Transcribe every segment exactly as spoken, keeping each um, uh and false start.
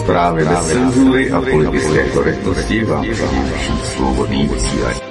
Zprávy bez cenzury a politické korektnosti vám přináší Svobodný vysílač.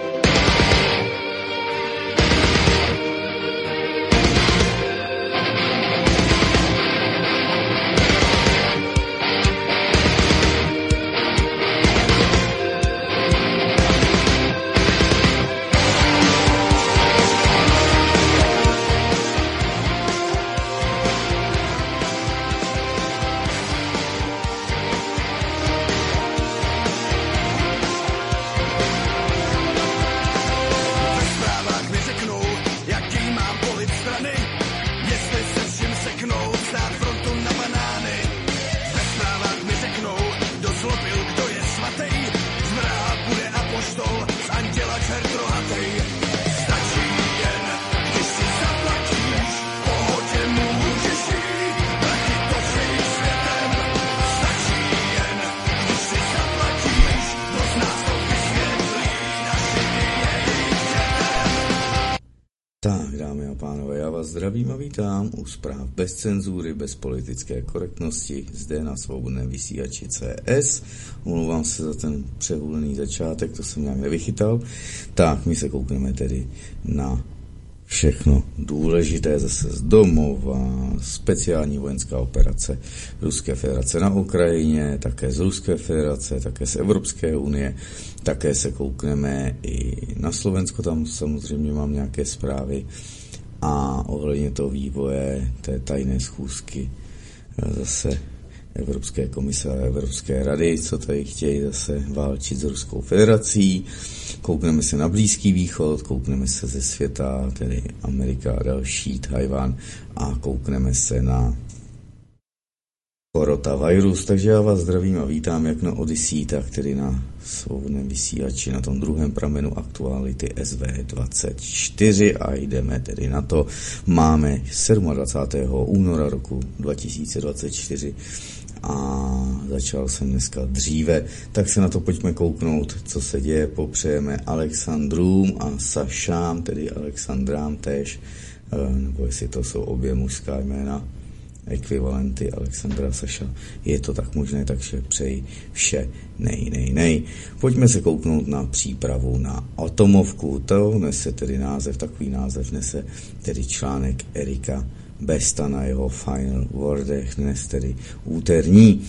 Tak, dámy a pánové, já vás zdravím a vítám u zpráv bez cenzury, bez politické korektnosti, zde na Svobodném vysílači C S. Omlouvám se za ten přehulený začátek, to jsem nějak nevychytal. Tak, my se koukneme tedy na všechno důležité zase z domova, speciální vojenská operace Ruské federace na Ukrajině, také z Ruské federace, také z Evropské unie, také se koukneme i na Slovensko, tam samozřejmě mám nějaké zprávy a ohledně toho vývoje té tajné schůzky zase Evropské komise a Evropské rady, co tady chtějí zase válčit s Ruskou federací. Koukneme se na Blízký východ, koukneme se ze světa, tedy Amerika a další, Tajvan, a koukneme se na koronavirus. Takže já vás zdravím a vítám jak na Odyssey, tak tedy na Svobodném vysílači, na tom druhém pramenu aktuality S V dvacet čtyři a jdeme tedy na to. Máme dvacátého sedmého února roku dva tisíce dvacet čtyři a začal jsem dneska dříve, tak se na to pojďme kouknout, co se děje. Popřejeme Alexandrům a Sašám, tedy Alexandrám též, nebo jestli to jsou obě mužská jména, ekvivalenty Alexandra Saša, je to tak možné, takže přeji vše nej, nej, nej. Pojďme se kouknout na přípravu na atomovku, to nese tedy název, takový název nese tedy článek Erika Besta na jeho Final Wordech, dnes tedy úterní.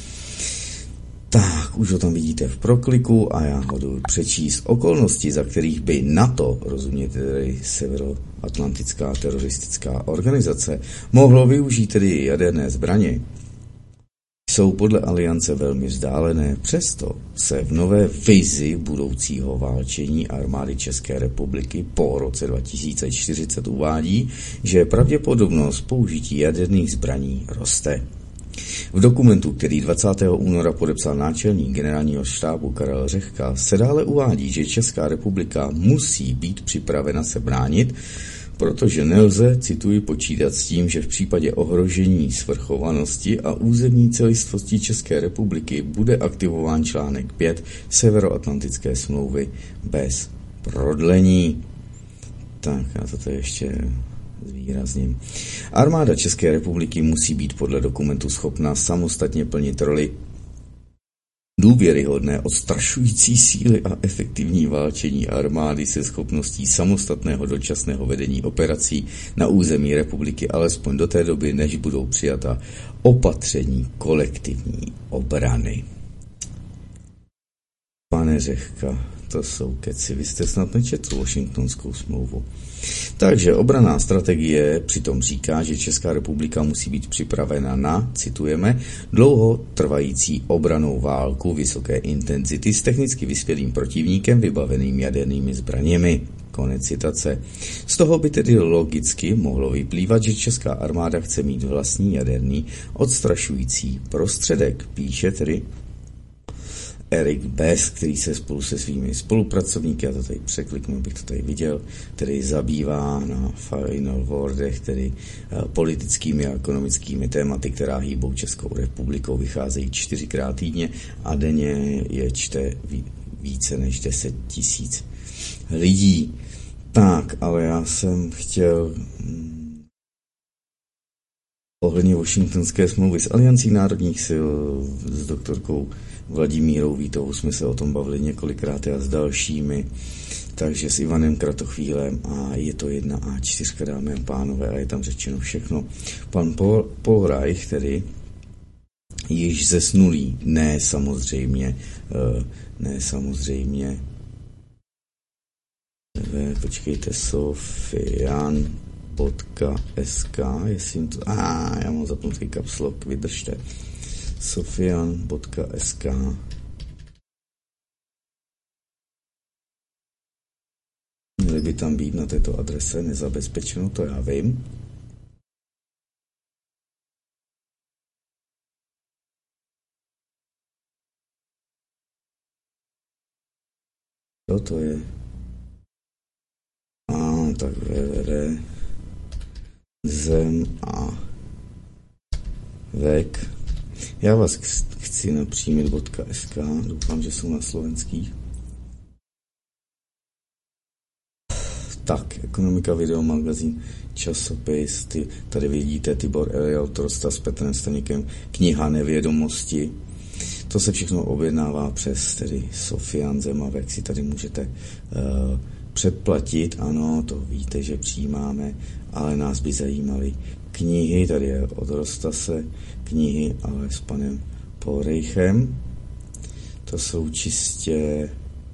Tak, už ho tam vidíte v prokliku a já ho jdu přečíst. Okolnosti, za kterých by NATO, rozumět tedy Severoatlantická teroristická organizace, mohlo využít tedy jaderné zbraně, jsou podle aliance velmi vzdálené. Přesto se v nové vizi budoucího válčení armády České republiky po roce dva tisíce čtyřicet uvádí, že pravděpodobnost použití jaderných zbraní roste. V dokumentu, který dvacátého února podepsal náčelník generálního štábu Karel Řehka, se dále uvádí, že Česká republika musí být připravena se bránit, protože nelze, cituji, počítat s tím, že v případě ohrožení svrchovanosti a územní celistvosti České republiky bude aktivován článek pět Severoatlantické smlouvy bez prodlení. Tak, já to tady ještě zvýrazním. Armáda České republiky musí být podle dokumentu schopna samostatně plnit roli důvěryhodné, odstrašující síly a efektivní válčení armády se schopností samostatného dočasného vedení operací na území republiky alespoň do té doby, než budou přijata opatření kolektivní obrany. Pane Řehka, to jsou keci, vy jste snad nečetl Washingtonskou smlouvu. Takže obranná strategie přitom říká, že Česká republika musí být připravena na, citujeme, dlouhotrvající obrannou válku vysoké intenzity s technicky vyspělým protivníkem vybaveným jadernými zbraněmi. Konec citace. Z toho by tedy logicky mohlo vyplývat, že česká armáda chce mít vlastní jaderný odstrašující prostředek, píše tedy Erik Best, který se spolu se svými spolupracovníky, já to tady překliknu, abych to tady viděl, který zabývá na Final Wordech, tedy politickými a ekonomickými tématy, která hýbou Českou republikou, vycházejí čtyřikrát týdně a denně je čte více než deset tisíc lidí. Tak, ale já jsem chtěl ohledně Washingtonské smlouvy s Aliancí národních sil, s doktorkou Vladimírou Vítovou jsme se o tom bavili několikrát a s dalšími, takže s Ivanem Kratochvílem a je to jedna á čtyři, dámy a pánové, a je tam řečeno všechno. Pan Paul, Paul Reich, tedy již zesnulý, ne samozřejmě, ne samozřejmě, počkejte, Sofian es ká, jestli jim to, a já mám zapnutý caps lock, vydržte, Sofian es ká. Měli by tam být na této adrese nezabezpečeno, to já vím. Co to je? A tak www. Zem a vek. Já vás chci napřímit .sk, doufám, že jsou na slovenských. Tak, ekonomika, video, magazín, časopis, ty, tady vidíte Tibor Eliot, Trosta s Petrem Staníkem, kniha Nevědomosti. To se všechno objednává přes tedy Sofian Zemavek, si tady můžete uh, předplatit, ano, to víte, že přijímáme, ale nás by zajímaly knihy, tady je od Rostase knihy, ale s panem Polreichem. To jsou čistě,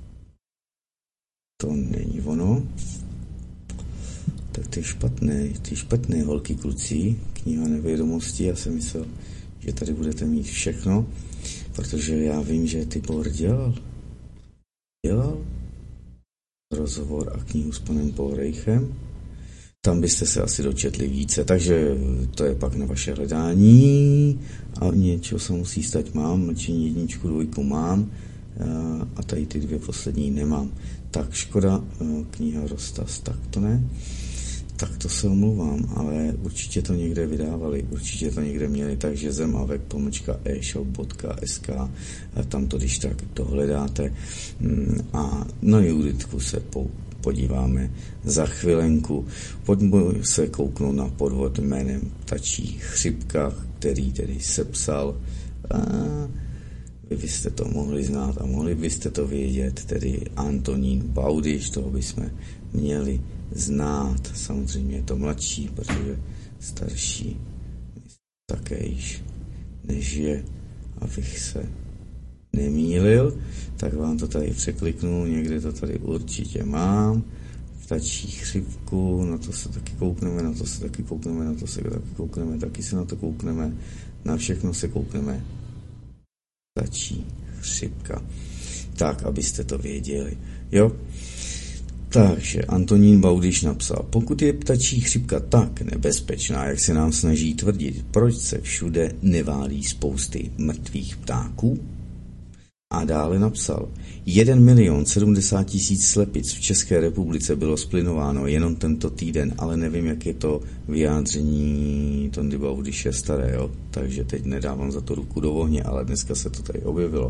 to není ono. Tak ty špatné, ty špatné holky kluci, kniha Nevědomosti, já jsem myslel, že tady budete mít všechno, protože já vím, že Tibor dělal, dělal rozhovor a knihu s panem Polreichem. Tam byste se asi dočetli více, takže to je pak na vaše hledání a něčeho se musí stát mám, mlčení jedničku, dvojku mám a tady ty dvě poslední nemám. Tak škoda, kniha Rostas, tak to ne. Tak to se omlouvám, ale určitě to někde vydávali, určitě to někde měli, takže zemavek pomlčka e-shop.sk, tam to když tak dohledáte a na Juditku se po, podíváme za chvilenku. Pojďme se kouknout na podvod jménem Ptačí chřipka, který tedy sepsal a vy byste to mohli znát a mohli byste to vědět, tedy Antonín Baudyš, toho bychom měli znát. Samozřejmě je to mladší, protože starší také již než je, abych se nemýlil, tak vám to tady překliknu, někde to tady určitě mám. Ptačí chřipku, na to se taky koukneme, na to se taky koukneme, na to se taky koukneme, taky se na to koukneme, na všechno se koukneme. Ptačí chřipka. Tak, abyste to věděli. Jo? Takže Antonín Baudyš napsal, pokud je ptačí chřipka tak nebezpečná, jak se nám snaží tvrdit, proč se všude neválí spousty mrtvých ptáků? A dále napsal, jeden milion sedmdesát tisíc slepic v České republice bylo splinováno jenom tento týden, ale nevím, jak je to vyjádření Tondy Baudyše staré, jo? Takže teď nedávám za to ruku do ohně, ale dneska se to tady objevilo.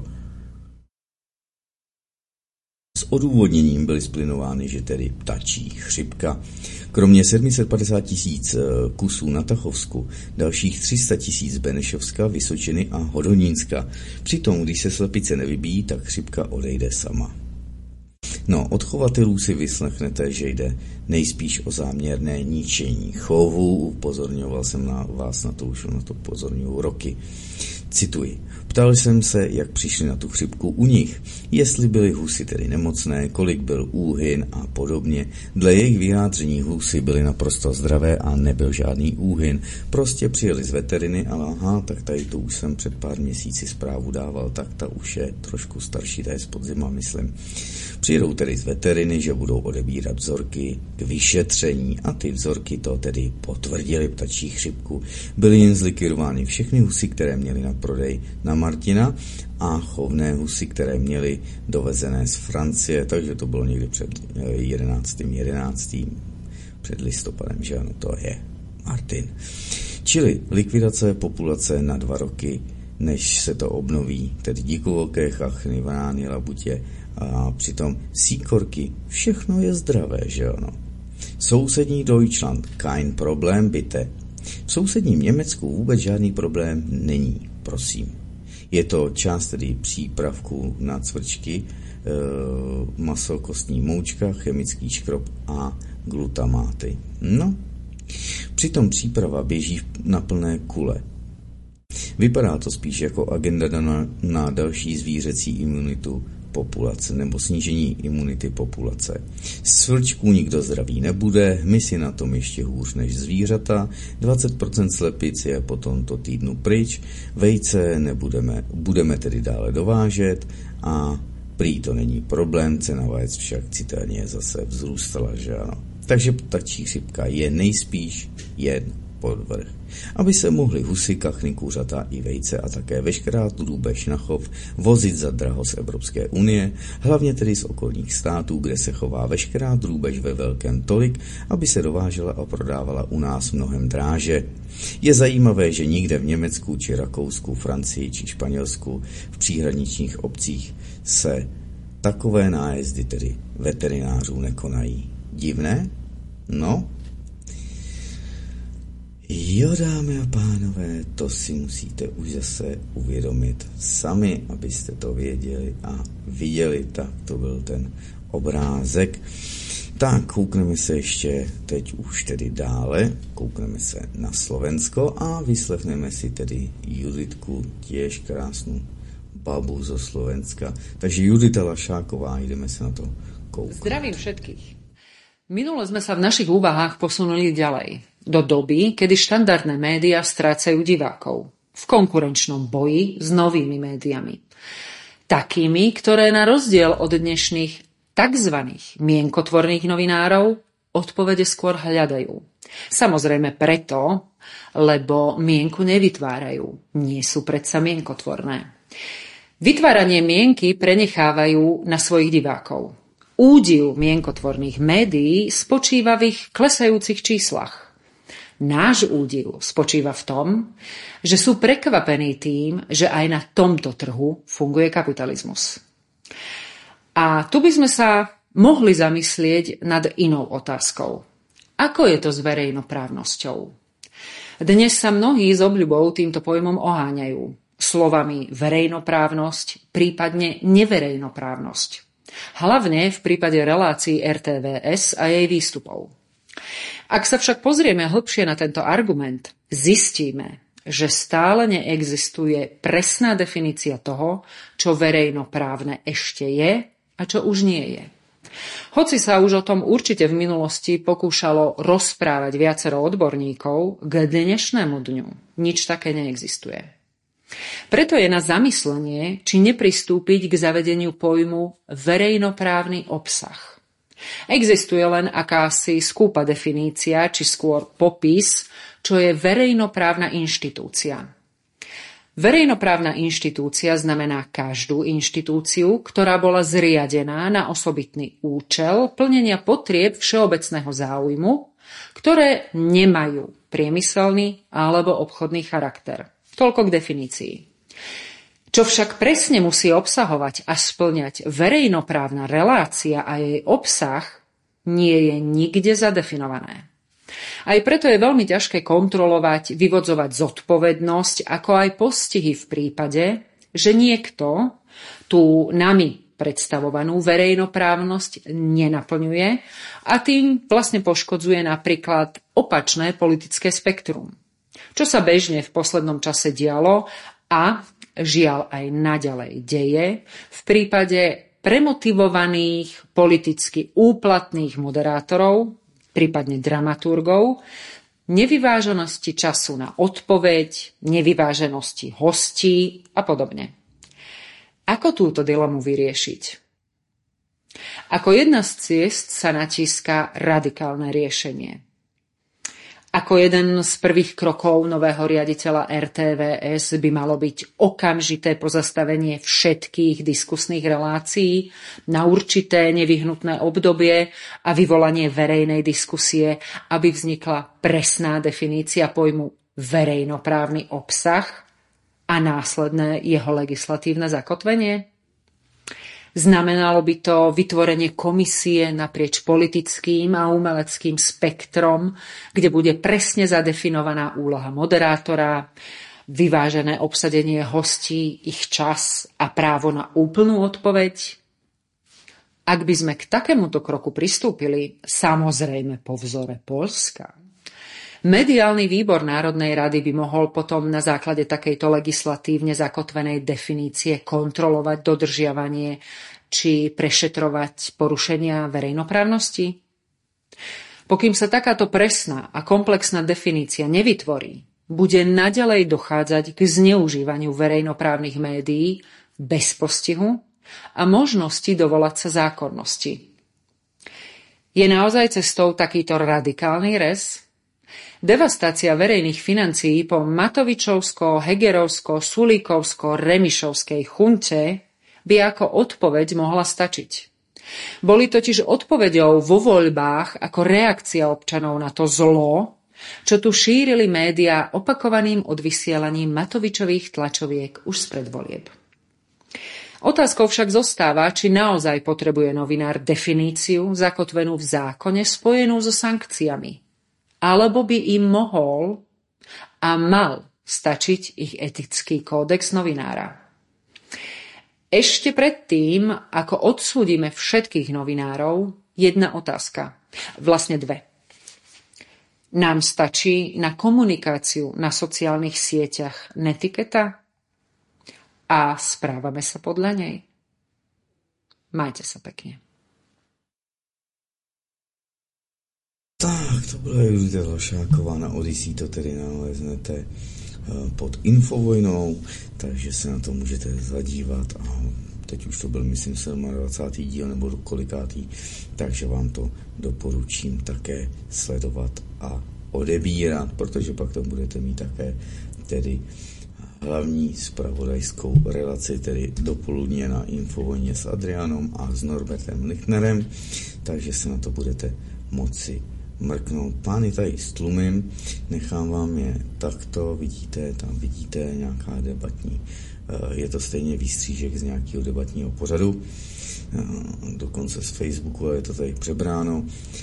S odůvodněním byly splinovány, že tedy ptačí chřipka. Kromě sedm set padesát tisíc kusů na Tachovsku, dalších tři sta tisíc Benešovska, Vysočiny a Hodonínska. Přitom, když se slepice nevybíjí, tak chřipka odejde sama. No, od chovatelů si vyslechnete, že jde nejspíš o záměrné ničení chovu. Upozorňoval jsem na vás na to, už na to upozorňuji roky. Cituji. Ptal jsem se, jak přišli na tu chřipku u nich, jestli byly husy tedy nemocné, kolik byl úhyn a podobně. Dle jejich vyjádření husy byly naprosto zdravé a nebyl žádný úhyn. Prostě přijeli z veteriny, ale aha, tak tady to už jsem před pár měsíci zprávu dával, tak ta už je trošku starší, ta je z podzima, myslím. Přijedou tedy z veteriny, že budou odebírat vzorky k vyšetření a ty vzorky to tedy potvrdily ptačí chřipku. Byly jen zlikvidovány všechny husy, které měly na prodej na Martina a chovné husy, které měly dovezené z Francie, takže to bylo někdy před jedenáctým jedenáctým před listopadem, že ano, to je Martin. Čili likvidace populace na dva roky, než se to obnoví, tedy dikovolké chachny, vrány, labutě a přitom síkorky, všechno je zdravé, že ano. Sousední Deutschland, kein Problem, bitte. V sousedním Německu vůbec žádný problém není, prosím. Je to část tedy přípravků na cvrčky, e, maso, kostní moučka, chemický škrob a glutamáty. No, přitom příprava běží na plné kule. Vypadá to spíš jako agenda na, na další zvířecí imunitu populace nebo snížení imunity populace. Z cvrčků nikdo zdravý nebude, my si na tom ještě hůř než zvířata, dvacet procent slepic je po tomto týdnu pryč, vejce nebudeme, budeme tedy dále dovážet a prý to není problém, cena vajec však citelně zase vzrůstala, že ano. Takže ptačí chřipka je nejspíš jen podvrh. Aby se mohly husy, kachny, kuřata i vejce a také veškerá drůbež na chov vozit za draho z Evropské unie, hlavně tedy z okolních států, kde se chová veškerá drůbež ve velkém tolik, aby se dovážela a prodávala u nás mnohem dráže. Je zajímavé, že nikde v Německu či Rakousku, Francii či Španělsku v příhraničních obcích se takové nájezdy tedy veterinářů nekonají. Divné? No, jo, dámy a pánové, to si musíte už zase uvědomit sami, abyste to věděli a viděli. Tak to byl ten obrázek. Tak, koukneme se ještě teď už tedy dále, koukneme se na Slovensko a vyslechneme si tedy Juditku, těž krásnou babu zo Slovenska. Takže Judita Lašáková, ideme sa na to kouknúť. Zdravím všetkých. Minule sme sa v našich úvahách posunuli ďalej. Do doby, kedy štandardné médiá strácajú divákov v konkurenčnom boji s novými médiami. Takými, ktoré na rozdiel od dnešných tzv. Mienkotvorných novinárov odpovede skôr hľadajú. Samozrejme preto, lebo mienku nevytvárajú. Nie sú predsa mienkotvorné. Vytváranie mienky prenechávajú na svojich divákov. Údiv mienkotvorných médií spočíva v ich klesajúcich číslach. Náš údiv spočíva v tom, že sú prekvapení tým, že aj na tomto trhu funguje kapitalizmus. A tu by sme sa mohli zamyslieť nad inou otázkou. Ako je to s verejnoprávnosťou? Dnes sa mnohí s obľubou týmto pojmom oháňajú. Slovami verejnoprávnosť, prípadne neverejnoprávnosť. Hlavne v prípade relácií er té vé es a jej výstupov. Ak sa však pozrieme hlbšie na tento argument, zistíme, že stále neexistuje presná definícia toho, čo verejnoprávne ešte je a čo už nie je. Hoci sa už o tom určite v minulosti pokúšalo rozprávať viacero odborníkov, k dnešnému dňu nič také neexistuje. Preto je na zamyslenie, či nepristúpiť k zavedeniu pojmu verejnoprávny obsah. Existuje len akási skúpa definícia, či skôr popis, čo je verejnoprávna inštitúcia. Verejnoprávna inštitúcia znamená každú inštitúciu, ktorá bola zriadená na osobitný účel plnenia potrieb všeobecného záujmu, ktoré nemajú priemyselný alebo obchodný charakter. Toľko k definícii. Čo však presne musí obsahovať a spĺňať verejnoprávna relácia a jej obsah, nie je nikde zadefinované. Aj preto je veľmi ťažké kontrolovať, vyvodzovať zodpovednosť, ako aj postihy v prípade, že niekto tú nami predstavovanú verejnoprávnosť nenaplňuje a tým vlastne poškodzuje napríklad opačné politické spektrum. Čo sa bežne v poslednom čase dialo a žiaľ aj naďalej deje v prípade premotivovaných, politicky úplatných moderátorov, prípadne dramaturgov, nevyváženosti času na odpoveď, nevyváženosti hostí a podobne. Ako túto dilemu vyriešiť? Ako jedna z ciest sa natíska radikálne riešenie. Ako jeden z prvých krokov nového riaditeľa er té vé es by malo byť okamžité pozastavenie všetkých diskusných relácií na určité nevyhnutné obdobie a vyvolanie verejnej diskusie, aby vznikla presná definícia pojmu verejnoprávny obsah a následné jeho legislatívne zakotvenie? Znamenalo by to vytvorenie komisie naprieč politickým a umeleckým spektrom, kde bude presne zadefinovaná úloha moderátora, vyvážené obsadenie hostí, ich čas a právo na úplnú odpoveď. Ak by sme k takémuto kroku pristúpili, samozrejme po vzore Poľska, mediálny výbor Národnej rady by mohol potom na základe takejto legislatívne zakotvenej definície kontrolovať dodržiavanie či prešetrovať porušenia verejnoprávnosti? Pokým sa takáto presná a komplexná definícia nevytvorí, bude naďalej dochádzať k zneužívaniu verejnoprávnych médií bez postihu a možnosti dovolať sa zákonnosti. Je naozaj cestou takýto radikálny rez? Devastácia verejných financií po Matovičovsko, Hegerovsko, Sulíkovsko, Remišovskej chunte by ako odpoveď mohla stačiť. Boli totiž odpoveďou vo voľbách ako reakcia občanov na to zlo, čo tu šírili médiá opakovaným odvysielaním Matovičových tlačoviek už spred volieb. Otázkou však zostáva, či naozaj potrebuje novinár definíciu zakotvenú v zákone spojenú so sankciami, alebo by im mohol a mal stačiť ich etický kódex novinára. Ešte predtým, ako odsúdime všetkých novinárov, jedna otázka, vlastne dve. Nám stačí na komunikáciu na sociálnych sieťach netiketa? A správame sa podľa nej? Majte sa pekne. Tak, to byla Judita Lašáková na Odyssey, to tedy naleznete pod Infovojnou, takže se na to můžete zadívat a teď už to byl, myslím, dvacátý sedmý díl nebo kolikátý, takže vám to doporučím také sledovat a odebírat, protože pak to budete mít také tedy hlavní zpravodajskou relaci, tedy dopoledne na Infovojně s Adrianom a s Norbertem Lichnerem, takže se na to budete moci mrknout. Pány tady stlumím, nechám vám je takto, vidíte, tam vidíte nějaká debatní, je to stejně výstřížek z nějakého debatního pořadu, dokonce z Facebooku, je to tady přebráno,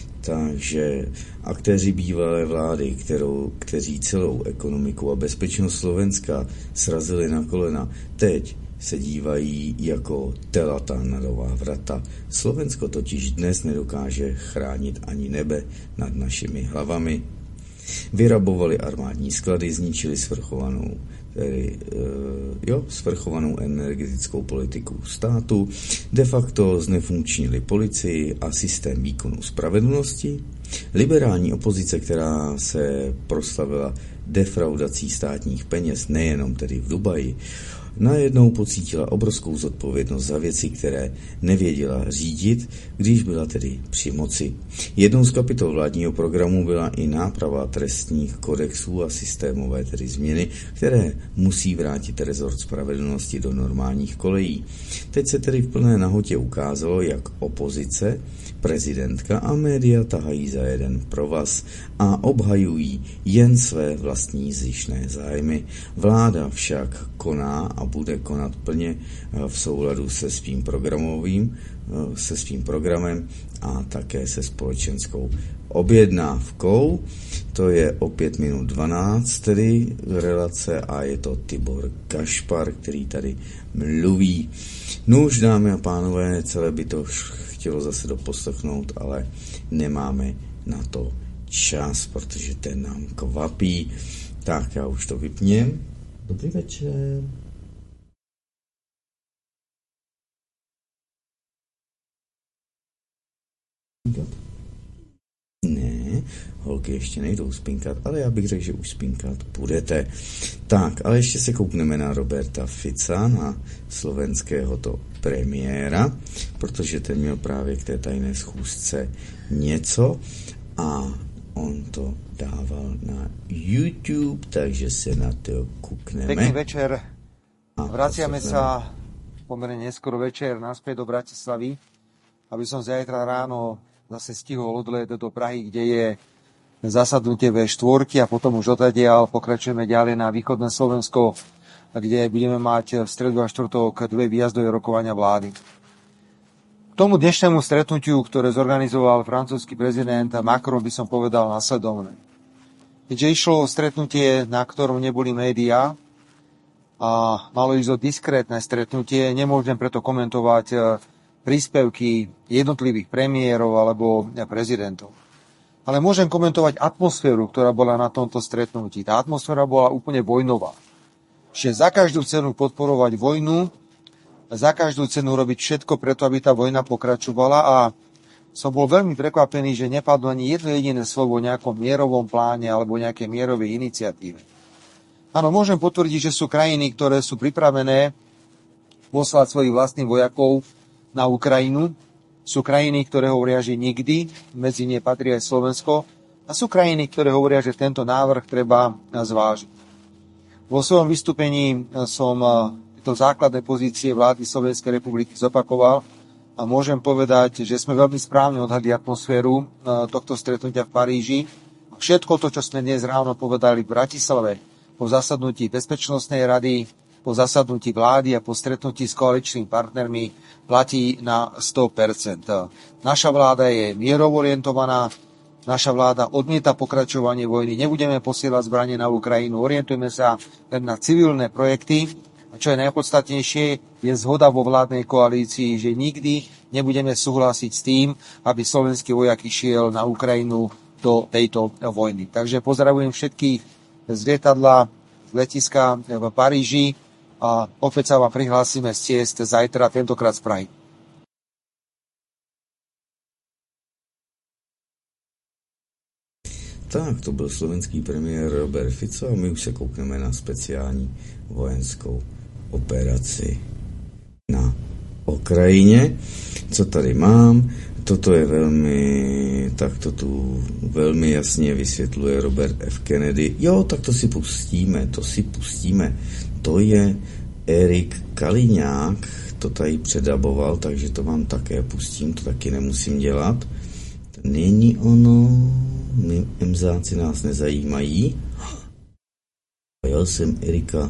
takže aktéři bývalé vlády, kterou, kteří celou ekonomiku a bezpečnost Slovenska srazili na kolena, teď se dívají jako telata na nová vrata. Slovensko totiž dnes nedokáže chránit ani nebe nad našimi hlavami. Vyrabovali armádní sklady, zničili svrchovanou, tedy, e, jo, svrchovanou energetickou politiku státu, de facto znefunkčnili policii a systém výkonu spravedlnosti. Liberální opozice, která se proslavila defraudací státních peněz, nejenom tedy v Dubaji, najednou pocítila obrovskou zodpovědnost za věci, které nevěděla řídit, když byla tedy při moci. Jednou z kapitol vládního programu byla i náprava trestních kodexů a systémové tedy změny, které musí vrátit rezort spravedlnosti do normálních kolejí. Teď se tedy v plné nahotě ukázalo, jak opozice, prezidentka a média tahají za jeden provaz a obhajují jen své vlastní zištné zájmy. Vláda však koná a bude konat plně v souladu se svým programovým, se svým programem a také se společenskou objednávkou. To je o pět minut dvanáct tedy relace a je to Tibor Gašpar, který tady mluví. No už, dámy a pánové, celé by to chtělo zase doposlechnout, ale nemáme na to čas, protože ten nám kvapí. Tak já už to vypněm. Dobrý večer. Ne, holky ještě nejdou spinkat, ale já bych řekl, že už spinkat budete. Tak, ale ještě se koukneme na Roberta Fica, na slovenského to premiéra, protože ten měl právě k té tajné schůzce něco a on to dával na YouTube, takže se na to kúkneme. Pekný večer. Vraciame sa pomerne neskoro večer naspäť do Bratislavy, aby som zajtra ráno zase stihol odlet do Prahy, kde je zasadnutie vé štyri a potom už odtiaľ pokračujeme ďalej na východné Slovensko, kde budeme mať v stredu a štvrtok dve výjazdové rokovania vlády. K tomu dnešnému stretnutiu, ktoré zorganizoval francúzsky prezident Macron, by som povedal nasledovné. Keďže išlo o stretnutie, na ktorom neboli médiá a malo ísť o diskrétne stretnutie, nemôžem preto komentovať príspevky jednotlivých premiérov alebo prezidentov. Ale môžem komentovať atmosféru, ktorá bola na tomto stretnutí. Tá atmosféra bola úplne vojnová. Čiže za každú cenu podporovať vojnu, za každú cenu robiť všetko preto, aby tá vojna pokračovala, a som bol veľmi prekvapený, že nepadlo ani jedno jediné slovo o nejakom mierovom pláne alebo nejakej mierovej iniciatíve. Áno, môžem potvrdiť, že sú krajiny, ktoré sú pripravené poslať svojich vlastných vojakov na Ukrajinu. Sú krajiny, ktoré hovoria, že nikdy, medzi ne patrí aj Slovensko, a sú krajiny, ktoré hovoria, že tento návrh treba zvážiť. Vo svojom vystúpení som to základné pozície vlády Slovenskej republiky zopakoval a môžem povedať, že sme veľmi správne odhadli atmosféru tohto stretnutia v Paríži. Všetko to, čo sme dnes ráno povedali v Bratislave po zasadnutí Bezpečnostnej rady, po zasadnutí vlády a po stretnutí s koaličnými partnermi, platí na sto percent. Naša vláda je mierovo orientovaná, naša vláda odmieta pokračovanie vojny, nebudeme posielať zbranie na Ukrajinu, orientujeme sa len na civilné projekty. A čo je najpodstatnejšie, je zhoda vo vládnej koalícii, že nikdy nebudeme súhlasiť s tým, aby slovenský vojak išiel na Ukrajinu do tejto vojny. Takže pozdravujem všetkých z lietadla, z letiska v Paríži a opäť sa vám prihlásime z ciest zajtra, tentokrát z Prahy. Tak, to byl slovenský premiér Robert Fico a my už se koukneme na speciální vojenskou operaci na Ukrajině. Co tady mám? Toto je velmi, tak to tu velmi jasně vysvětluje Robert F. Kennedy. Jo, tak to si pustíme, to si pustíme. To je Erik Kaliňák, to tady předaboval, takže to vám také pustím, to taky nemusím dělat. To není ono, my emzáci nás nezajímají. A já jsem Erika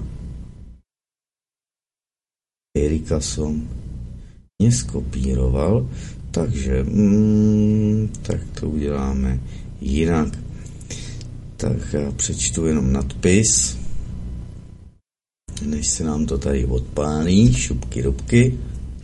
Erika som neskopíroval, takže mm, tak to uděláme jinak. Tak já přečtu jenom nadpis, než se nám to tady odpálí, šupky dubky.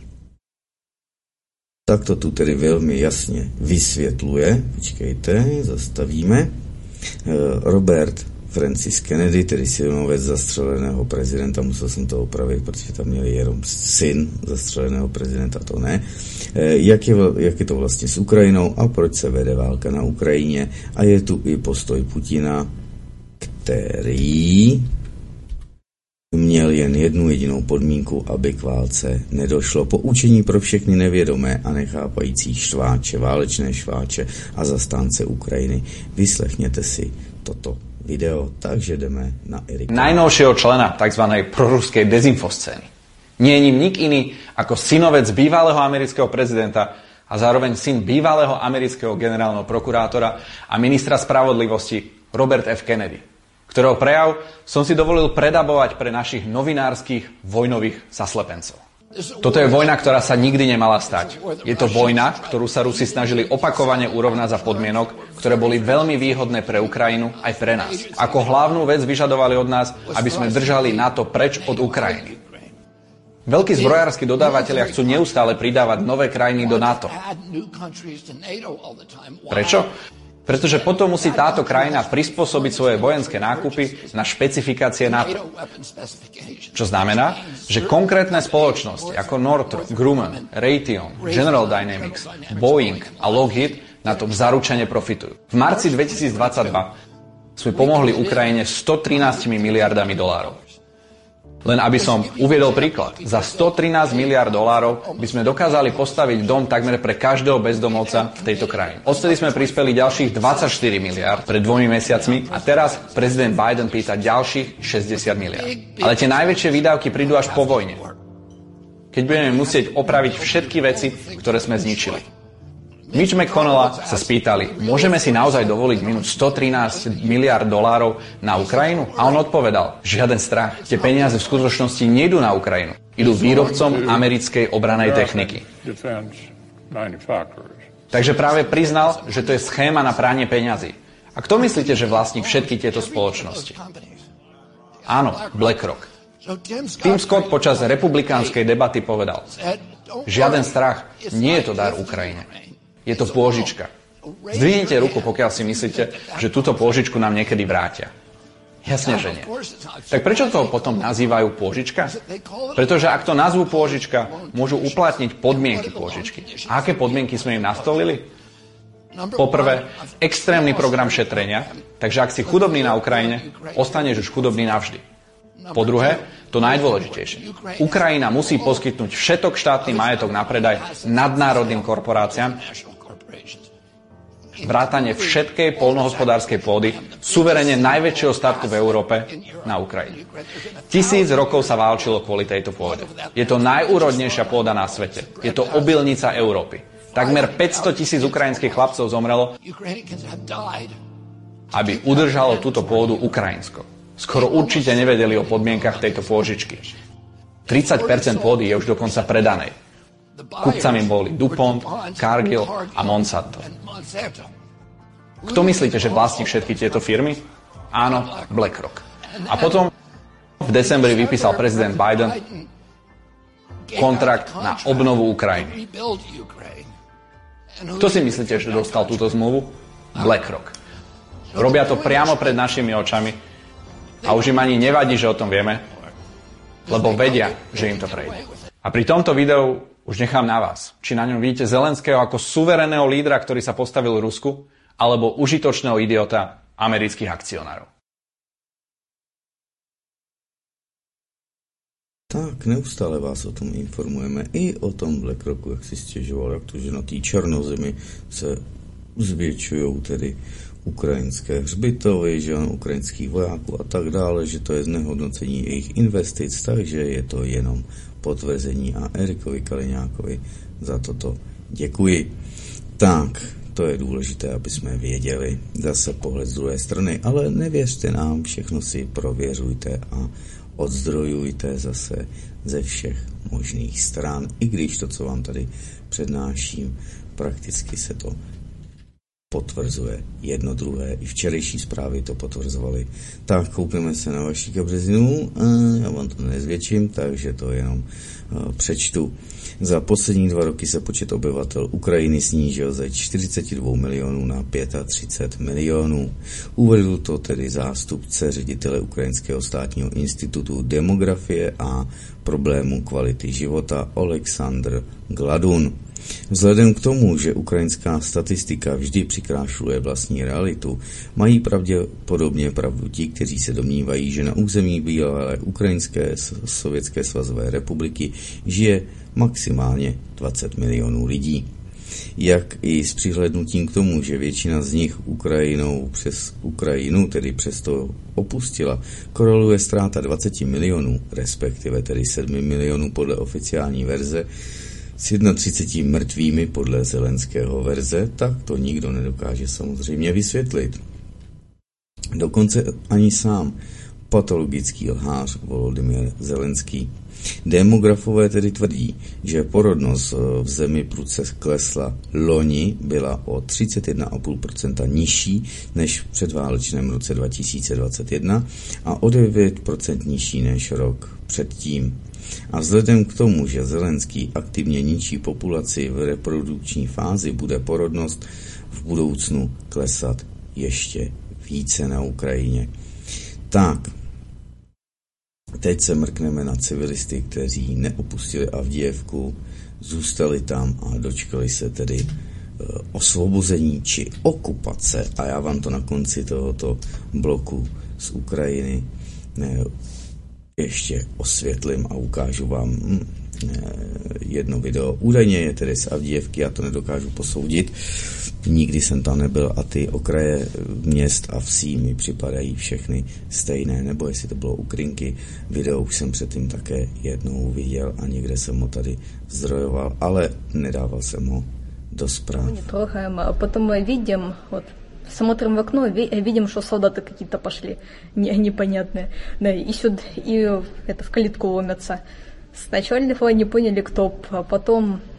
Tak to tu tedy velmi jasně vysvětluje. Počkejte, zastavíme. Robert Francis Kennedy, tedy synovec zastřeleného prezidenta, musel jsem to opravit, protože tam měli jenom syn zastřeleného prezidenta, to ne. Jak je, jak je to vlastně s Ukrajinou a proč se vede válka na Ukrajině? A je tu i postoj Putina, který měl jen jednu jedinou podmínku, aby k válce nedošlo. Poučení pro všechny nevědomé a nechápající šváče, válečné šváče a zastánce Ukrajiny. Vyslechněte si toto video, takže jdeme na Erika. Najnovšieho člena tzv. Proruskej dezinfoscény. Nie je ním nik iný ako synovec bývalého amerického prezidenta a zároveň syn bývalého amerického generálneho prokurátora a ministra spravodlivosti Robert F. Kennedy, ktorého prejav som si dovolil predabovať pre našich novinárskych vojnových zaslepencov. Toto je vojna, ktorá sa nikdy nemala stať. Je to vojna, ktorú sa Rusi snažili opakovane urovnať za podmienok, ktoré boli veľmi výhodné pre Ukrajinu aj pre nás. Ako hlavnú vec vyžadovali od nás, aby sme držali NATO preč od Ukrajiny. Veľkí zbrojársky dodávatelia chcú neustále pridávať nové krajiny do NATO. Prečo? Pretože potom musí táto krajina prispôsobiť svoje vojenské nákupy na špecifikácie NATO. Čo znamená, že konkrétne spoločnosti ako Northrop Grumman, Raytheon, General Dynamics, Boeing a Lockheed na tom zaručene profitujú. V marci dvetisícdvadsaťdva sme pomohli Ukrajine stotrinásť miliardami dolárov. Len aby som uviedol príklad, za stotrinásť miliárd dolárov by sme dokázali postaviť dom takmer pre každého bezdomovca v tejto krajine. Odtedy sme prispeli ďalších dvadsaťštyri miliárd pred dvomi mesiacmi a teraz prezident Biden pýta ďalších šesťdesiat miliárd. Ale tie najväčšie výdavky prídu až po vojne, keď budeme musieť opraviť všetky veci, ktoré sme zničili. Mitch McConnella sa spýtali, môžeme si naozaj dovoliť minúť stotrinásť miliárd dolárov na Ukrajinu? A on odpovedal, žiaden strach, tie peniaze v skutočnosti nejdú na Ukrajinu, idú výrobcom americkej obranej techniky. Takže práve priznal, že to je schéma na pranie peňazí. A kto myslíte, že vlastní všetky tieto spoločnosti? Áno, BlackRock. Tim Scott počas republikánskej debaty povedal: žiaden strach, nie je to dar Ukrajine. Je to pôžička. Zdvihnite ruku, pokiaľ si myslíte, že túto pôžičku nám niekedy vrátia. Jasne, že nie. Tak prečo to potom nazývajú pôžička? Pretože ak to nazvú pôžička, môžu uplatniť podmienky pôžičky. A aké podmienky sme im nastolili? Poprvé, extrémny program šetrenia, takže ak si chudobný na Ukrajine, ostaneš už chudobný navždy. Po druhé, to najdôležitejšie. Ukrajina musí poskytnúť všetok štátny majetok na predaj nadnárodným korporáciám, vrátane všetkej poľnohospodárskej pôdy, suverene najväčšieho statku v Európe, na Ukrajine. Tisíc rokov sa válčilo kvôli tejto pôde. Je to najúrodnejšia pôda na svete. Je to obilnica Európy. Takmer päťsto tisíc ukrajinských chlapcov zomrelo, aby udržalo túto pôdu Ukrajinsko. Skoro určite nevedeli o podmienkach tejto pôžičky. tridsať percent pôdy je už dokonca predanej. Kupcami boli DuPont, Cargill a Monsanto. Kto myslíte, že vlastní všetky tieto firmy? Áno, BlackRock. A potom v decembri vypísal prezident Biden kontrakt na obnovu Ukrajiny. Kto si myslíte, že dostal túto zmluvu? BlackRock. Robia to priamo pred našimi očami a už im ani nevadí, že o tom vieme, lebo vedia, že im to prejde. A pri tomto videu už nechám na vás, či na ňom vidíte Zelenského ako suverénneho lídra, ktorý sa postavil Rusku, alebo užitočného idiota amerických akcionárov. Tak, neustále vás o tom informujeme. I o tom BlackRocku, jak si stěžoval, jak to, že na té černozemi se zvětšují tedy ukrajinské hřbitovy, že ano, ukrajinských vojáků a tak dále, že to je znehodnocení jejich investic, takže je to jenom potvrzení a Erikovi Kaliňákovi za toto děkuji. Tak, to je důležité, aby jsme věděli zase pohled z druhé strany, ale nevěřte nám, všechno si prověřujte a odzdrojujte zase ze všech možných stran, i když to, co vám tady přednáším, prakticky se to potvrzuje jedno druhé. I včerejší zprávy to potvrzovali. Tak, koukneme se na vaši kabřezinu. Já vám to nezvětším, takže to jenom přečtu. Za poslední dva roky se počet obyvatel Ukrajiny snížil ze čtyřicet dva milionů na třicet pět milionů. Uvedl to tedy zástupce ředitele Ukrajinského státního institutu demografie a problému kvality života Oleksandr Gladun. Vzhledem k tomu, že ukrajinská statistika vždy přikrášluje vlastní realitu, mají pravděpodobně pravdu ti, kteří se domnívají, že na území bývalé Ukrajinské sovětské svazové republiky žije maximálně dvacet milionů lidí. Jak i s přihlednutím k tomu, že většina z nich Ukrajinou přes Ukrajinu, tedy přesto opustila, koreluje ztráta dvacet milionů, respektive tedy sedm milionů podle oficiální verze, s třicet jedna mrtvými podle Zelenského verze, tak to nikdo nedokáže samozřejmě vysvětlit. Dokonce ani sám patologický lhář Volodymyr Zelenský. Demografové tedy tvrdí, že porodnost v zemi prudce klesla. Loni byla o třicet jedna celá pět procenta nižší než v předválečném roce dva tisíce dvacet jedna a o devět procent nižší než rok předtím. A vzhledem k tomu, že Zelenský aktivně ničí populaci v reprodukční fázi, bude porodnost v budoucnu klesat ještě více na Ukrajině. Tak, teď se mrkneme na civilisty, kteří neopustili Avdijevku, zůstali tam a dočkali se tedy e, osvobození či okupace. A já vám to na konci tohoto bloku z Ukrajiny ne, ještě osvětlím a ukážu vám hm, jedno video. Údajně je tedy z Avdijevky, já to nedokážu posoudit. Nikdy jsem tam nebyl a ty okraje měst a vsí mi připadají všechny stejné, nebo jestli to bylo Ukrinky. Video už jsem předtím také jednou viděl a někde jsem ho tady zdrojoval, ale nedával jsem ho do zpráv. А потом мы видим, вот, смотрим в окно и видим, что солдаты какие-то пошли непонятные. Да, и сюда, и это, в калитку ломятся. Сначала не поняли, кто, а потом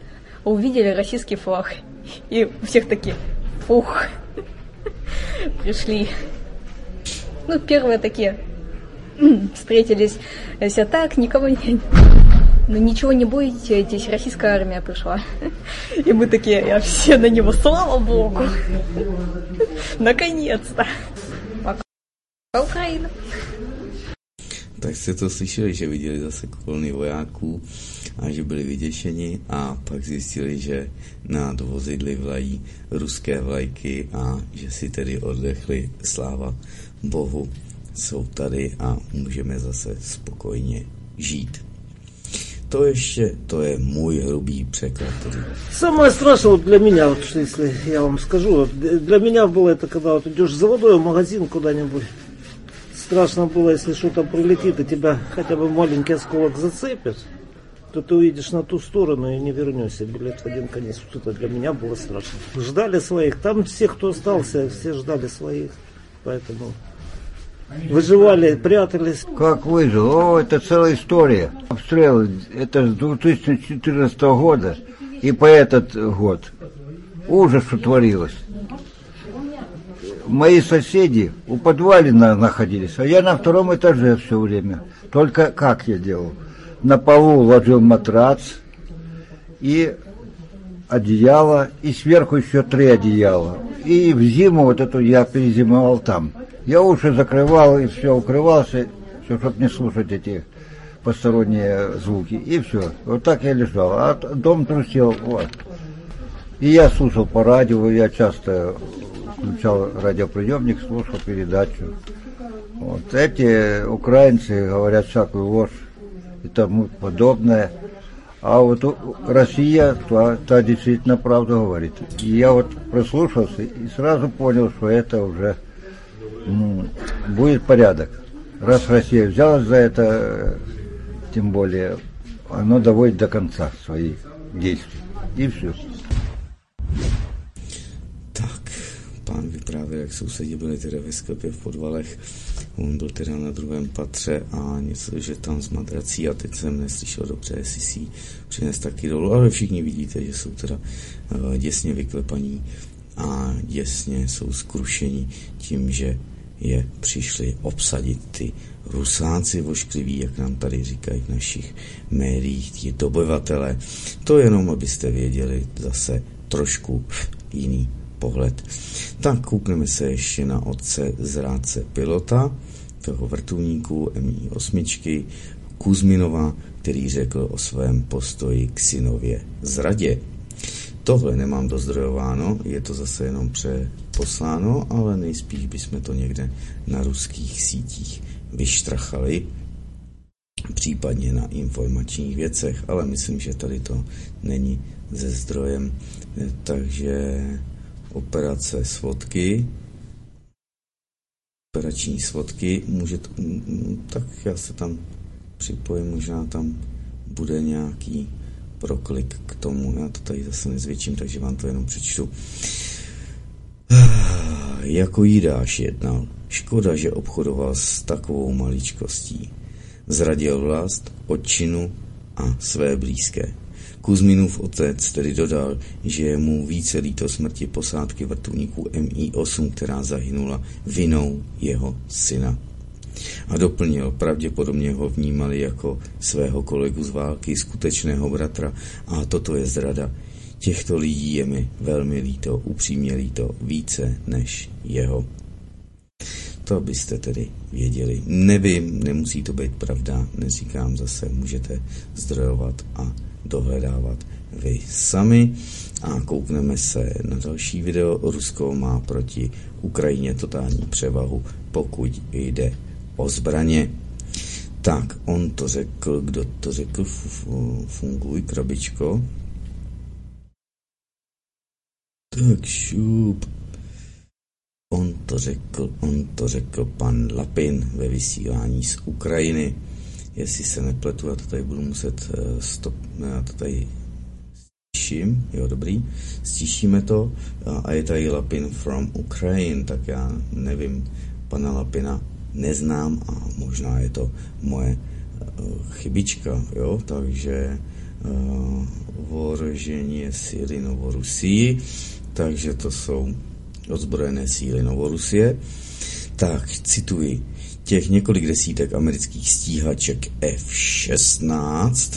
увидели российский флаг. И у всех такие, фух, пришли. Ну, первые такие встретились, все так, никого не... Ну, ничего не боитесь, российская армия пришла. И мы такие, все на него, слава Богу. Наконец-то. Пока Ukrajina. Tak jste to slyšeli, že viděli zase kolony vojáků a že byli vyděšeni a pak zjistili, že nad vozidly vlají ruské vlajky a že si tedy oddechli, sláva Bohu, jsou tady a můžeme zase spokojně žít. То еще, то есть мой грубый преклад. Самое страшное для меня, вот, что если я вам скажу, вот, для меня было это, когда вот идешь в заводной магазин куда-нибудь, страшно было, если что-то прилетит и тебя хотя бы маленький осколок зацепит, то ты уедешь на ту сторону и не вернешься, билет в один конец. Вот это для меня было страшно. Ждали своих, там все, кто остался, все ждали своих, поэтому... Выживали, прятались. Как выжил? О, это целая история. Обстрелы, это с две тысячи четырнадцатого года и по этот год. Ужас, что творилось. Мои соседи у подвале находились, а я на втором этаже все время. Только как я делал? На полу ложил матрац и одеяло, и сверху еще три одеяла. И в зиму вот эту я перезимовал там. Я уши закрывал и все, укрывался, все, чтобы не слушать эти посторонние звуки. И все. Вот так я лежал. А дом трусил. Вот. И я слушал по радио, я часто включал радиоприемник, слушал передачу. Вот. Эти украинцы говорят всякую ложь и тому подобное. А вот Россия, та, та действительно правду говорит. И я вот прослушался и сразу понял, что это уже... Ну, будет порядок. Раз Россия взялась за это, тем более, оно доводит до конца свои действия. И все. Tak, pán vyprávěl, jak sousedí byli teda ve sklepě v podvalech. On byl teda na druhém patře a něco, že tam z madrací a teď jsem neslyšel dobře, jestli si ji přines taky dolů, ale všichni vidíte, že jsou teda uh, děsně vyklepaní a děsně jsou skrušeni tím, že je přišli obsadit ty Rusáci voškliví, jak nám tady říkají v našich médiích, ti dobyvatele. To jenom, abyste věděli zase trošku jiný pohled. Tak koukneme se ještě na otce zrádce pilota, toho vrtulníku M I osm Kuzminova, který řekl o svém postoji k synově zradě. Tohle nemám dozdrojováno, je to zase jenom přeposláno, ale nejspíš bychom to někde na ruských sítích vyštrachali, případně na informačních věcech, ale myslím, že tady to není ze zdrojem. Takže operace svodky, operační svodky, může to, tak já se tam připojím, možná tam bude nějaký proklik k tomu. Já to tady zase nezvětším, takže vám to jenom přečtu. Jako Jidáš jednal. Škoda, že obchodoval s takovou maličkostí. Zradil vlast, otčinu a své blízké. Kuzminův otec tedy dodal, že je mu více líto smrti posádky vrtulníků M I osm, která zahynula vinou jeho syna. A doplnil, pravděpodobně ho vnímali jako svého kolegu z války, skutečného bratra, a toto je zrada. Těchto lidí je mi velmi líto, upřímně líto, více než jeho. To byste tedy věděli. Nevím, nemusí to být pravda, neříkám zase, můžete zdrojovat a dohledávat vy sami. A koukneme se na další video. Rusko má proti Ukrajině totální převahu, pokud jde o zbraně. Tak, on to řekl, kdo to řekl, funguj, krabičko. Tak šup. On to řekl, on to řekl pan Lapin ve vysílání z Ukrajiny. Jestli se nepletu, já to tady budu muset stop, já to tady stiším, jo, dobrý, stišíme to a je tady Lapin from Ukraine, tak já nevím, pana Lapina neznám a možná je to moje chybička, jo, takže ohrožení síly Novorusii, takže to jsou ozbrojené síly Novorusie. Tak, cituji, těch několik desítek amerických stíhaček F šestnáct,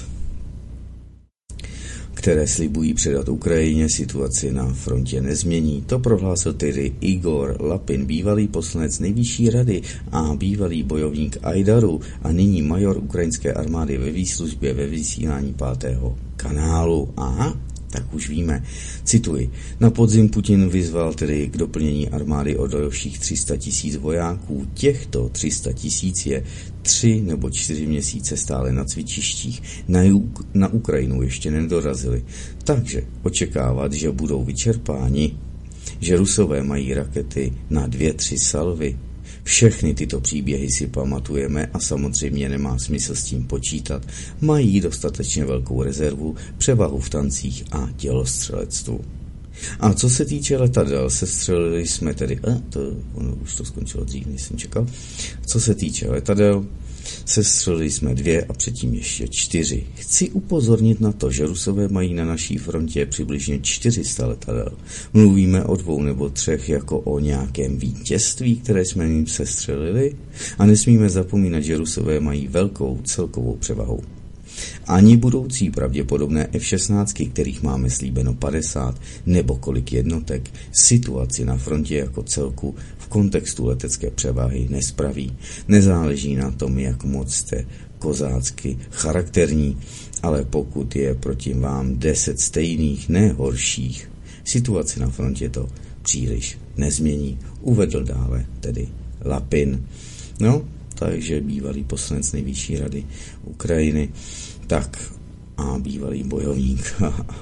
které slibují předat Ukrajině, situaci na frontě nezmění. To prohlásil tedy Igor Lapin, bývalý poslanec Nejvyšší rady a bývalý bojovník Ajdaru a nyní major ukrajinské armády ve výslužbě ve vysílání pátého kanálu. Aha, tak už víme. Cituji. Na podzim Putin vyzval tedy k doplnění armády o dalších tři sta tisíc vojáků. Těchto tři sta tisíc je tři nebo čtyři měsíce stále na cvičištích. Na, na Ukrajinu ještě nedorazili. Takže očekávat, že budou vyčerpáni, že Rusové mají rakety na dvě, tři salvy. Všechny tyto příběhy si pamatujeme a samozřejmě nemá smysl s tím počítat. Mají dostatečně velkou rezervu, převahu v tancích a dělostřelectvu. A co se týče letadel, sestřelili jsme tedy... A, to, ono už to skončilo dřív, než jsem čekal. Co se týče letadel, sestřelili jsme dvě a předtím ještě čtyři. Chci upozornit na to, že Rusové mají na naší frontě přibližně čtyři sta letadel. Mluvíme o dvou nebo třech jako o nějakém vítězství, které jsme jim sestřelili, a nesmíme zapomínat, že Rusové mají velkou celkovou převahu. Ani budoucí pravděpodobné F šestnáct, kterých máme slíbeno padesát, nebo kolik jednotek, situaci na frontě jako celku v kontextu letecké převahy nespraví. Nezáleží na tom, jak moc jste kozácky charakterní, ale pokud je proti vám deset stejných, ne horších, situaci na frontě to příliš nezmění. Uvedl dále tedy Lapin. No, takže bývalý poslanec Nejvyšší rady Ukrajiny, tak a bývalý bojovník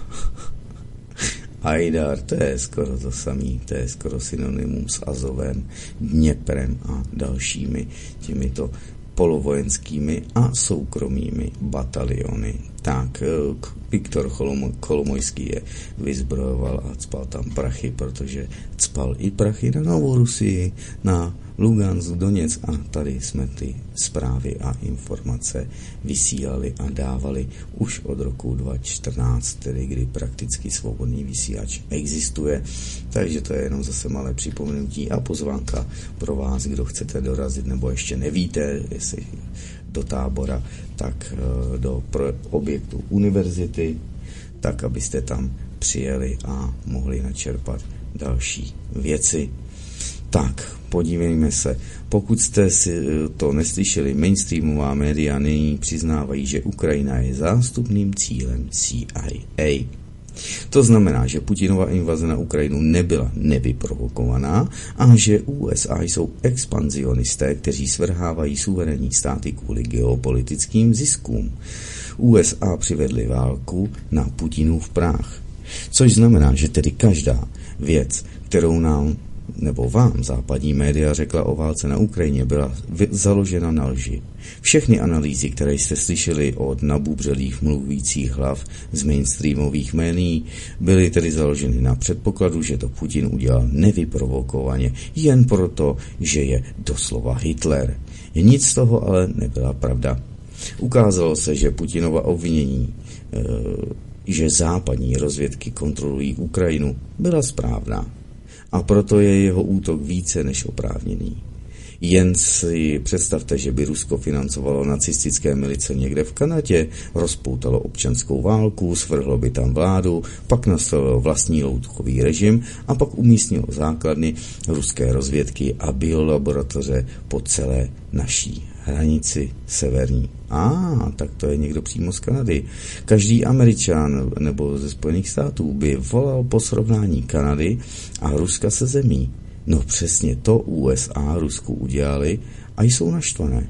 Ajdar, to je skoro to samý, to je skoro synonymum s Azovem, Dněprem a dalšími těmito polovojenskými a soukromými bataliony. Tak, Viktor Kolomojský je vyzbrojoval a cpal tam prachy, protože cpal i prachy na Novorusii, na Lugansk, Doněck, a tady jsme ty zprávy a informace vysílali a dávali už od roku dva tisíce čtrnáct, tedy kdy prakticky svobodný vysílač existuje. Takže to je jenom zase malé připomenutí a pozvánka pro vás, kdo chcete dorazit nebo ještě nevíte, jestli do Tábora, tak do objektu univerzity, tak abyste tam přijeli a mohli načerpat další věci. Tak, podívejme se. Pokud jste si to neslyšeli, mainstreamová média nyní přiznávají, že Ukrajina je zástupným cílem C I A. To znamená, že Putinova invaze na Ukrajinu nebyla nevyprovokovaná a že U S A jsou expanzionisté, kteří svrhávají suverénní státy kvůli geopolitickým ziskům. U S A přivedli válku na Putinův prach. Což znamená, že tedy každá věc, kterou nám nebo vám západní média řekla o válce na Ukrajině, byla založena na lži. Všechny analýzy, které jste slyšeli od nabubřelých mluvících hlav z mainstreamových médií, byly tedy založeny na předpokladu, že to Putin udělal nevyprovokovaně, jen proto, že je doslova Hitler. Nic z toho ale nebyla pravda. Ukázalo se, že Putinova obvinění, že západní rozvědky kontrolují Ukrajinu, byla správná. A proto je jeho útok více než oprávněný. Jen si představte, že by Rusko financovalo nacistické milice někde v Kanadě, rozpoutalo občanskou válku, svrhlo by tam vládu, pak nastavilo vlastní loutkový režim a pak umístnilo základny ruské rozvědky a biolaboratoře po celé naší hranici severní. A, ah, tak to je někdo přímo z Kanady. Každý Američan nebo ze Spojených států by volal po srovnání Kanady a Ruska se zemí. No přesně to U S A Rusku udělali a jsou naštvané.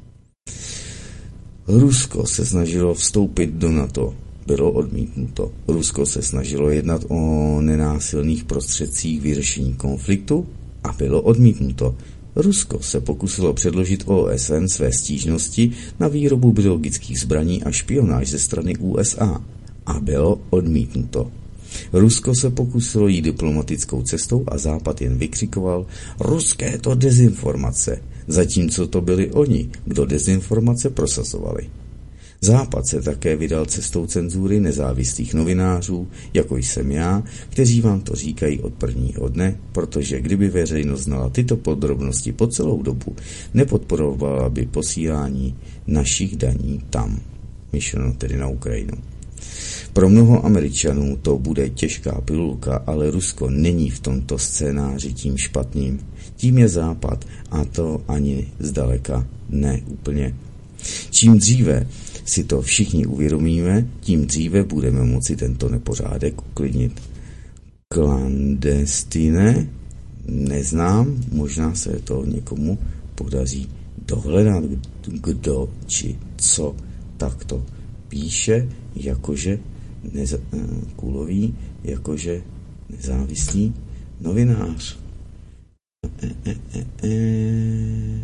Rusko se snažilo vstoupit do NATO. Bylo odmítnuto. Rusko se snažilo jednat o nenásilných prostředcích vyřešení konfliktu a bylo odmítnuto. Rusko se pokusilo předložit O S N své stížnosti na výrobu biologických zbraní a špionáž ze strany U S A a bylo odmítnuto. Rusko se pokusilo jít diplomatickou cestou a Západ jen vykřikoval: ruské to dezinformace, zatímco to byli oni, kdo dezinformace prosazovali. Západ se také vydal cestou cenzury nezávislých novinářů, jako jsem já, kteří vám to říkají od prvního dne, protože kdyby veřejnost znala tyto podrobnosti po celou dobu, nepodporovala by posílání našich daní tam, myšleno tedy na Ukrajinu. Pro mnoho Američanů to bude těžká pilulka, ale Rusko není v tomto scénáři tím špatným. Tím je Západ a to ani zdaleka ne úplně. Čím dříve si to všichni uvědomíme, tím dříve budeme moci tento nepořádek uklidnit. Klandestine neznám, možná se to někomu podaří dohledat, kdo či co takto píše, jakože neza, kulový, jakože nezávislý novinář. E, e, e, e.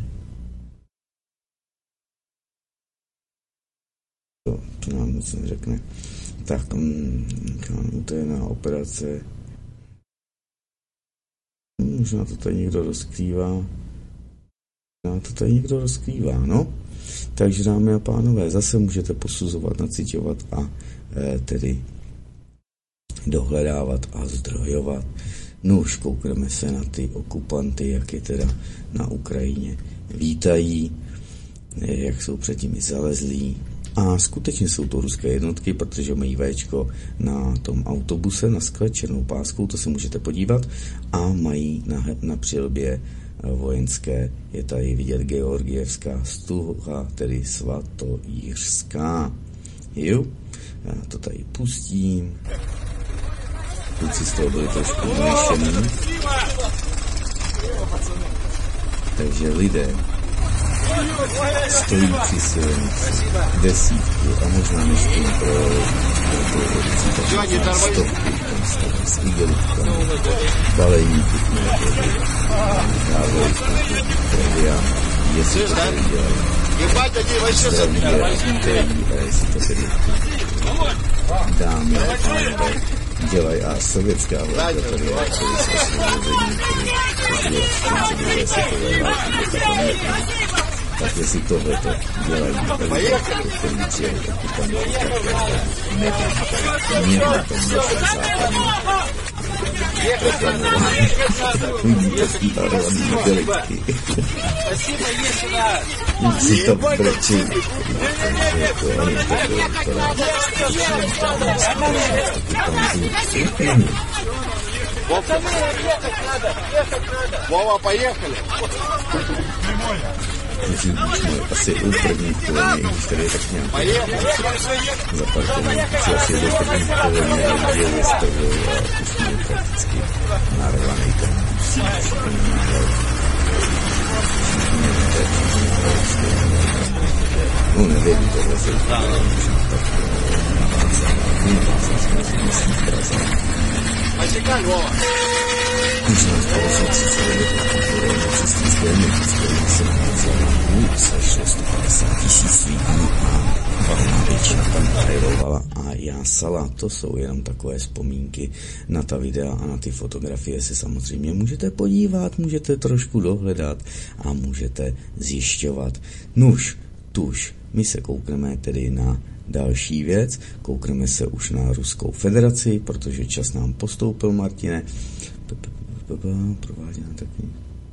To, to nám nic neřekne. Tak, um, to je na operace. Možná to tady někdo rozkrývá. Možná to tady někdo rozkrývá, no. Takže, dámy a pánové, zase můžete posuzovat, naciťovat a e, tedy dohledávat a zdrojovat. No už koukneme se na ty okupanty, jak je teda na Ukrajině vítají, jak jsou před nimi zalezlí. A skutečně jsou to ruské jednotky, protože mají véčko na tom autobuse, na skle černou páskou, to se můžete podívat, a mají na, na přilbě vojenské, je tady vidět Georgievská stuha, tedy svatojířská. Jo, já to tady pustím. Kluci z toho byli trošku uměšený. Takže lidé stojí při silnici desítky a možná než tím pro stovky tam s igelítkami, balení pitné vody, dávají trevia, jestli to tady dělají. Zdraví je a vítají a jestli to tedy dámy a pánové dělají a sovětská vláda tady je celý s osvobození, který je druhé světové války, tak jestli tohleto dělají lidé, který přijeli okupanti, tak nevím, mě na tom našem západním proklamování takový takový arovaný delikty. Si to brečí, takže to ani takové vypadá, okupantů. Вова, поехали! Musí být můj asi u první kolony, když tady je tak nějak za pár kolony, když asi do první kolony je vystavil a už měl prakticky narvaný ten no nevím, tohle se udělá, možná tak navázat, navázat jsme si Praze. Když nás bylo třicet let na křesťanské městské se navázala se šlo sto padesát tisíc lidí a valná většina tam hajlovala a jásala. To jsou jenom takové vzpomínky na ta videa a na ty fotografie se samozřejmě můžete podívat, můžete trošku dohledat a můžete zjišťovat. Nuž, tuž, my se koukneme tedy na další věc, koukneme se už na Ruskou federaci, protože čas nám postoupil, Martine. Prováděná takový.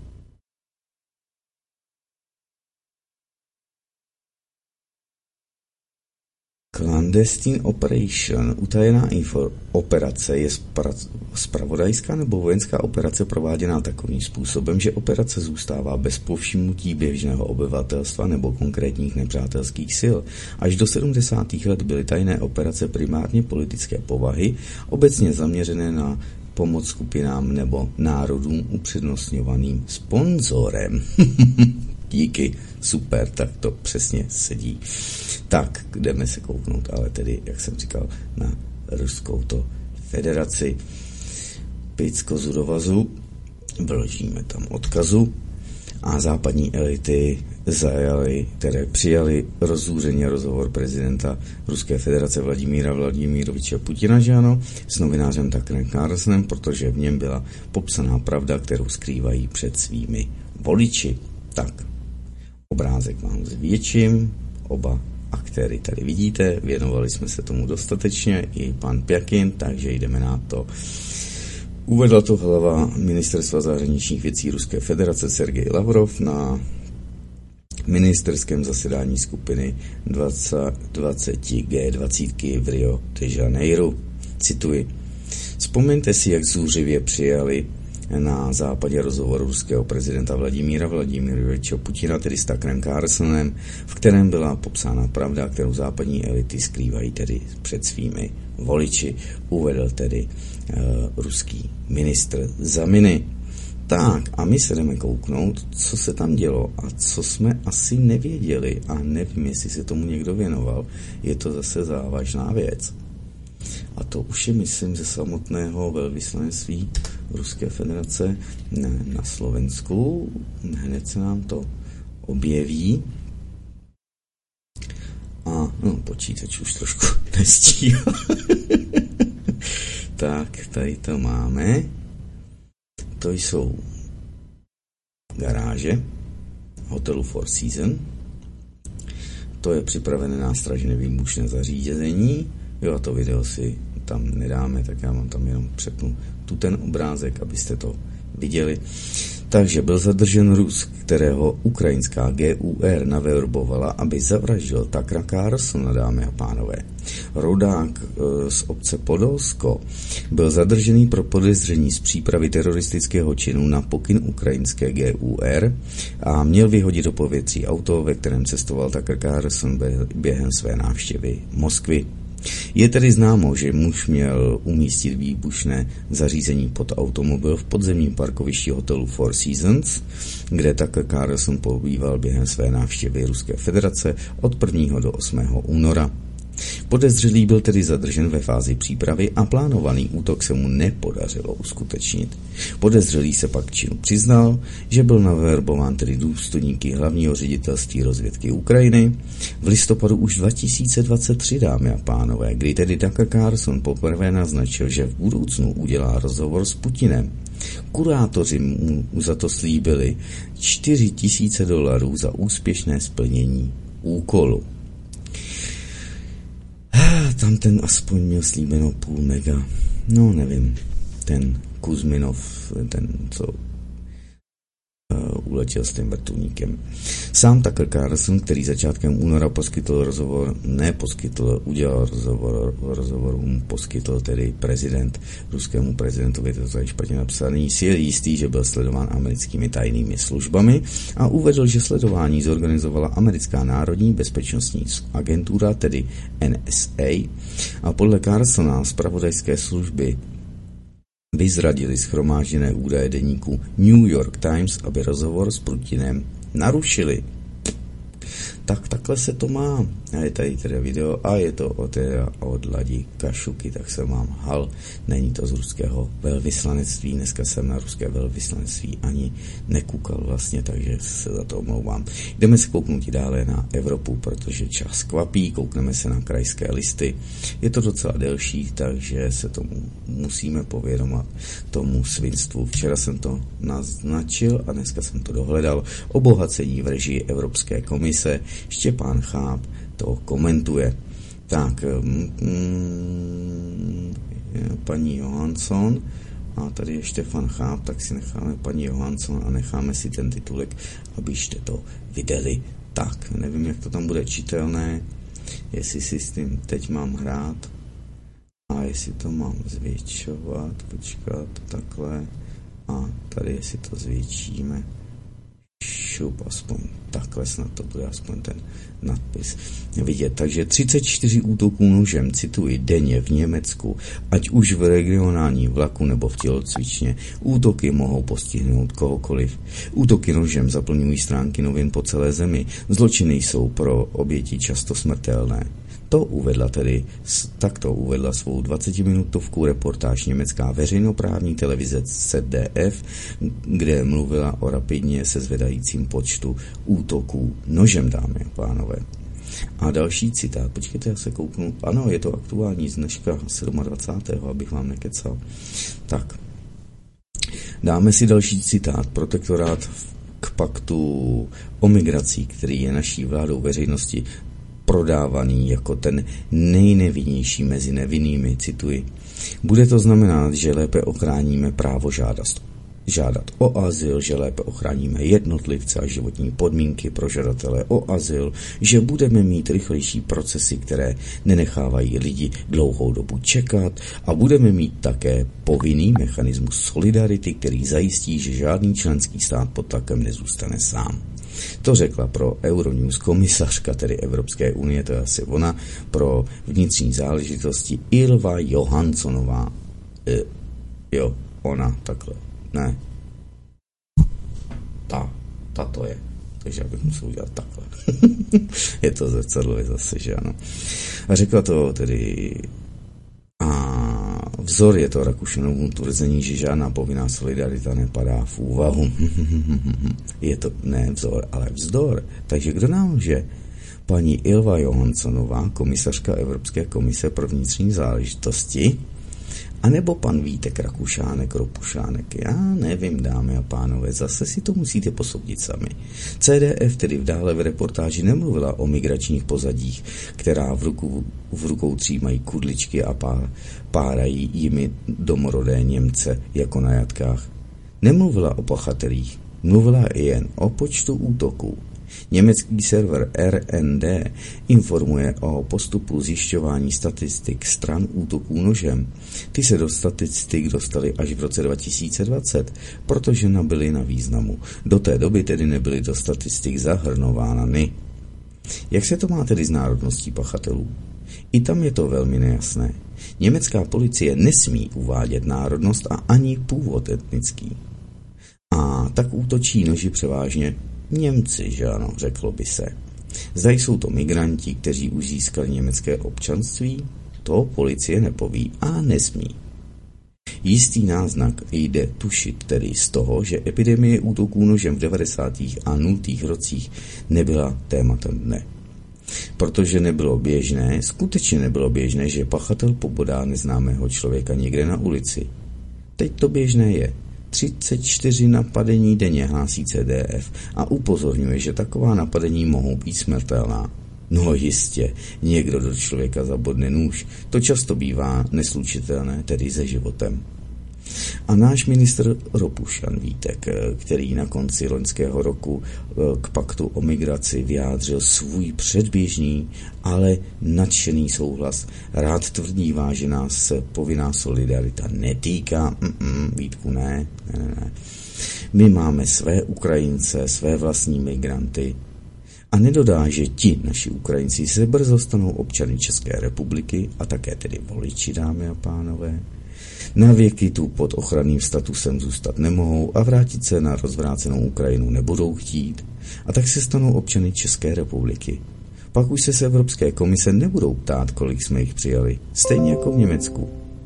Clandestine Operation, utajená info operace, je zpravodajská nebo vojenská operace prováděná takovým způsobem, že operace zůstává bez povšimnutí běžného obyvatelstva nebo konkrétních nepřátelských sil. Až do sedmdesátých let byly tajné operace primárně politické povahy, obecně zaměřené na pomoc skupinám nebo národům upřednostňovaným sponzorem. Díky, super, tak to přesně sedí. Tak, jdeme se kouknout, ale tedy, jak jsem říkal, na Ruskou to federaci. Picko Zudovazu, vložíme tam odkazu a západní elity zajali, které přijali rozúřeně rozhovor prezidenta Ruské federace Vladimíra Vladimiroviče Putina, že ano, s novinářem Tuckerem Carlsonem, protože v něm byla popsaná pravda, kterou skrývají před svými voliči. Tak, obrázek mám zvětším, oba aktéry tady vidíte, věnovali jsme se tomu dostatečně, i pan Pjakin, takže jdeme na to. Uvedla to hlava Ministerstva zahraničních věcí Ruské federace Sergej Lavrov na ministerském zasedání skupiny dvacet dvacet G dvacet v Rio de Janeiro. Cituji. Vzpomeňte si, jak zúřivě přijali na západě rozhovoru ruského prezidenta Vladimíra Vladimiroviče Putina, tedy s Tuckerem Carlsonem, v kterém byla popsána pravda, kterou západní elity skrývají tedy před svými voliči, uvedl tedy uh, ruský ministr Zaminy. Tak a my se jdeme kouknout, co se tam dělo a co jsme asi nevěděli a nevím, jestli se tomu někdo věnoval. Je to zase závažná věc. A to už je, myslím, ze samotného velvyslanectví Ruské federace na Slovensku. Hned se nám to objeví. A no, počítač už trošku nestíhá. Tak, tady to máme. To jsou garáže hotelu Four Seasons. To je připravené nástražné výbušné zařízení. Jo, a to video si tam nedáme, tak já vám tam jenom přepnu tu ten obrázek, abyste to viděli. Takže byl zadržen Rus, kterého ukrajinská G U R naverbovala, aby zavraždil Tuckera Carlsona, dámy a pánové. Rodák e, z obce Podolsko byl zadržený pro podezření z přípravy teroristického činu na pokyn ukrajinské G U R a měl vyhodit do povětří auto, ve kterém cestoval Tucker Carlson během své návštěvy Moskvy. Je tedy známo, že muž měl umístit výbušné zařízení pod automobil v podzemním parkovišti hotelu Four Seasons, kde Tucker Carlson pobýval během své návštěvy Ruské federace od prvního do osmého února. Podezřelý byl tedy zadržen ve fázi přípravy a plánovaný útok se mu nepodařilo uskutečnit. Podezřelý se pak činu přiznal, že byl naverbován tedy důstojníky hlavního ředitelství rozvědky Ukrajiny v listopadu už dva tisíce dvacet tři, dámy a pánové, kdy tedy Tucker Carlson poprvé naznačil, že v budoucnu udělá rozhovor s Putinem. Kurátoři mu za to slíbili čtyři tisíce dolarů za úspěšné splnění úkolu. Tam ten aspoň měl slíbeno půl mega. No, nevím. Ten Kuzminov, ten, co uh, uletěl s tím vrtulníkem. Sám Tucker Carlson, který začátkem února poskytl rozhovor, ne poskytl, udělal rozhovor, rozhovorům poskytl tedy prezident, ruskému prezidentovi, to je špatně napsaný, si je jistý, že byl sledován americkými tajnými službami a uvedl, že sledování zorganizovala americká národní bezpečnostní agentura, tedy N S A, a podle Carlsona zpravodajské služby vyzradili shromážděné údaje deníku New York Times, aby rozhovor s Putinem narušili. Tak takhle se to má. A je tady teda video a je to od, od Ladi Kašuky, tak se mám hal. Není to z ruského velvyslanectví. Dneska jsem na ruské velvyslanectví ani nekoukal vlastně, takže se za to omlouvám. Jdeme se kouknout dále na Evropu, protože čas kvapí. Koukneme se na krajské listy. Je to docela delší, takže se tomu musíme povědomat, tomu svinstvu. Včera jsem to naznačil a dneska jsem to dohledal. Obohacení v režii Evropské komise. Štěpán Cháp to komentuje. Tak, mm, paní Johansson a tady je Štefan Cháp, tak si necháme paní Johansson a necháme si ten titulek, abyste to viděli. Tak, nevím, jak to tam bude čitelné, jestli si s tím teď mám hrát a jestli to mám zvětšovat, počkat, takhle a tady jestli to zvětšíme. Šup, aspoň takhle snad to bude aspoň ten nadpis vidět. Takže třicet čtyři útoků nožem, cituji, denně v Německu, ať už v regionální vlaku nebo v tělocvičně. Útoky mohou postihnout kohokoliv. Útoky nožem zaplňují stránky novin po celé zemi. Zločiny jsou pro oběti často smrtelné. To uvedla tedy, takto uvedla svou dvacetiminutovku reportáž německá veřejnoprávní televize Z D F, kde mluvila o rapidně se zvedajícím počtu útoků nožem, dámy a pánové. A další citát, počkejte, já se kouknu, ano, je to aktuální z dneška dvacátého sedmého abych vám nekecal. Tak, dáme si další citát, protektorát k paktu o migrací, který je naší vládou veřejnosti prodávaný jako ten nejnevinnější mezi nevinnými, cituji. Bude to znamenat, že lépe ochráníme právo žádat, žádat o azyl, že lépe ochráníme jednotlivce a životní podmínky pro žadatele o azyl, že budeme mít rychlejší procesy, které nenechávají lidi dlouhou dobu čekat a budeme mít také povinný mechanismus solidarity, který zajistí, že žádný členský stát pod tlakem nezůstane sám. To řekla pro Euronews komisařka, tedy Evropské unie, to je asi ona, pro vnitřní záležitosti Ylva Johanssonová. E, jo, ona, takhle. Ne. Ta, ta to je. Takže já bych musel udělat takhle. Je to zrcadlo zase, že ano. A řekla to tedy a vzor je to Rakušanovu tvrzení, že žádná povinná solidarita nepadá v úvahu. Je to ne vzor, ale vzdor. Takže kdo nám lže? Paní Ylva Johanssonová, komisařka Evropské komise pro vnitřní záležitosti, a nebo pan Vítek Rakušánek, Ropušánek, já nevím, dámy a pánové, zase si to musíte posoudit sami. C D F tedy v dále v reportáži nemluvila o migračních pozadích, která v, ruku, v rukou třímají kudličky a pá, párají jimi domorodé Němce jako na jatkách. Nemluvila o pachatelích, mluvila jen o počtu útoků. Německý server R N D informuje o postupu zjišťování statistik stran útoků nožem. Ty se do statistik dostaly až v roce dva tisíce dvacet, protože nabyly na významu. Do té doby tedy nebyly do statistik zahrnovány. Jak se to má tedy s národností pachatelů? I tam je to velmi nejasné. Německá policie nesmí uvádět národnost a ani původ etnický. A tak útočí noži převážně Němci, že ano, řeklo by se. Zda jsou to migranti, kteří už získali německé občanství, to policie nepoví a nesmí. Jistý náznak jde tušit tedy z toho, že epidemie útoků nožem v devadesátých a nultých rocích nebyla tématem dne. Protože nebylo běžné, skutečně nebylo běžné, že pachatel pobodá neznámého člověka někde na ulici. Teď to běžné je. třicet čtyři napadení denně hlásí C D F a upozorňuje, že taková napadení mohou být smrtelná. No jistě, někdo do člověka zabodne nůž. To často bývá neslučitelné, tedy se životem. A náš ministr Ropušan Vítek, který na konci loňského roku k paktu o migraci vyjádřil svůj předběžný, ale nadšený souhlas, rád tvrdívá, že nás povinná solidarita netýká. Mm-mm, Vítku, ne, ne, ne. My máme své Ukrajince, své vlastní migranty. A nedodá, že ti naši Ukrajinci se brzo stanou občany České republiky a také tedy voliči, dámy a pánové. Na věky tu pod ochranným statusem zůstat nemohou a vrátit se na rozvrácenou Ukrajinu nebudou chtít a tak se stanou občany České republiky. Pak už se z Evropské komise nebudou ptát, kolik jsme jich přijali, stejně jako v Německu.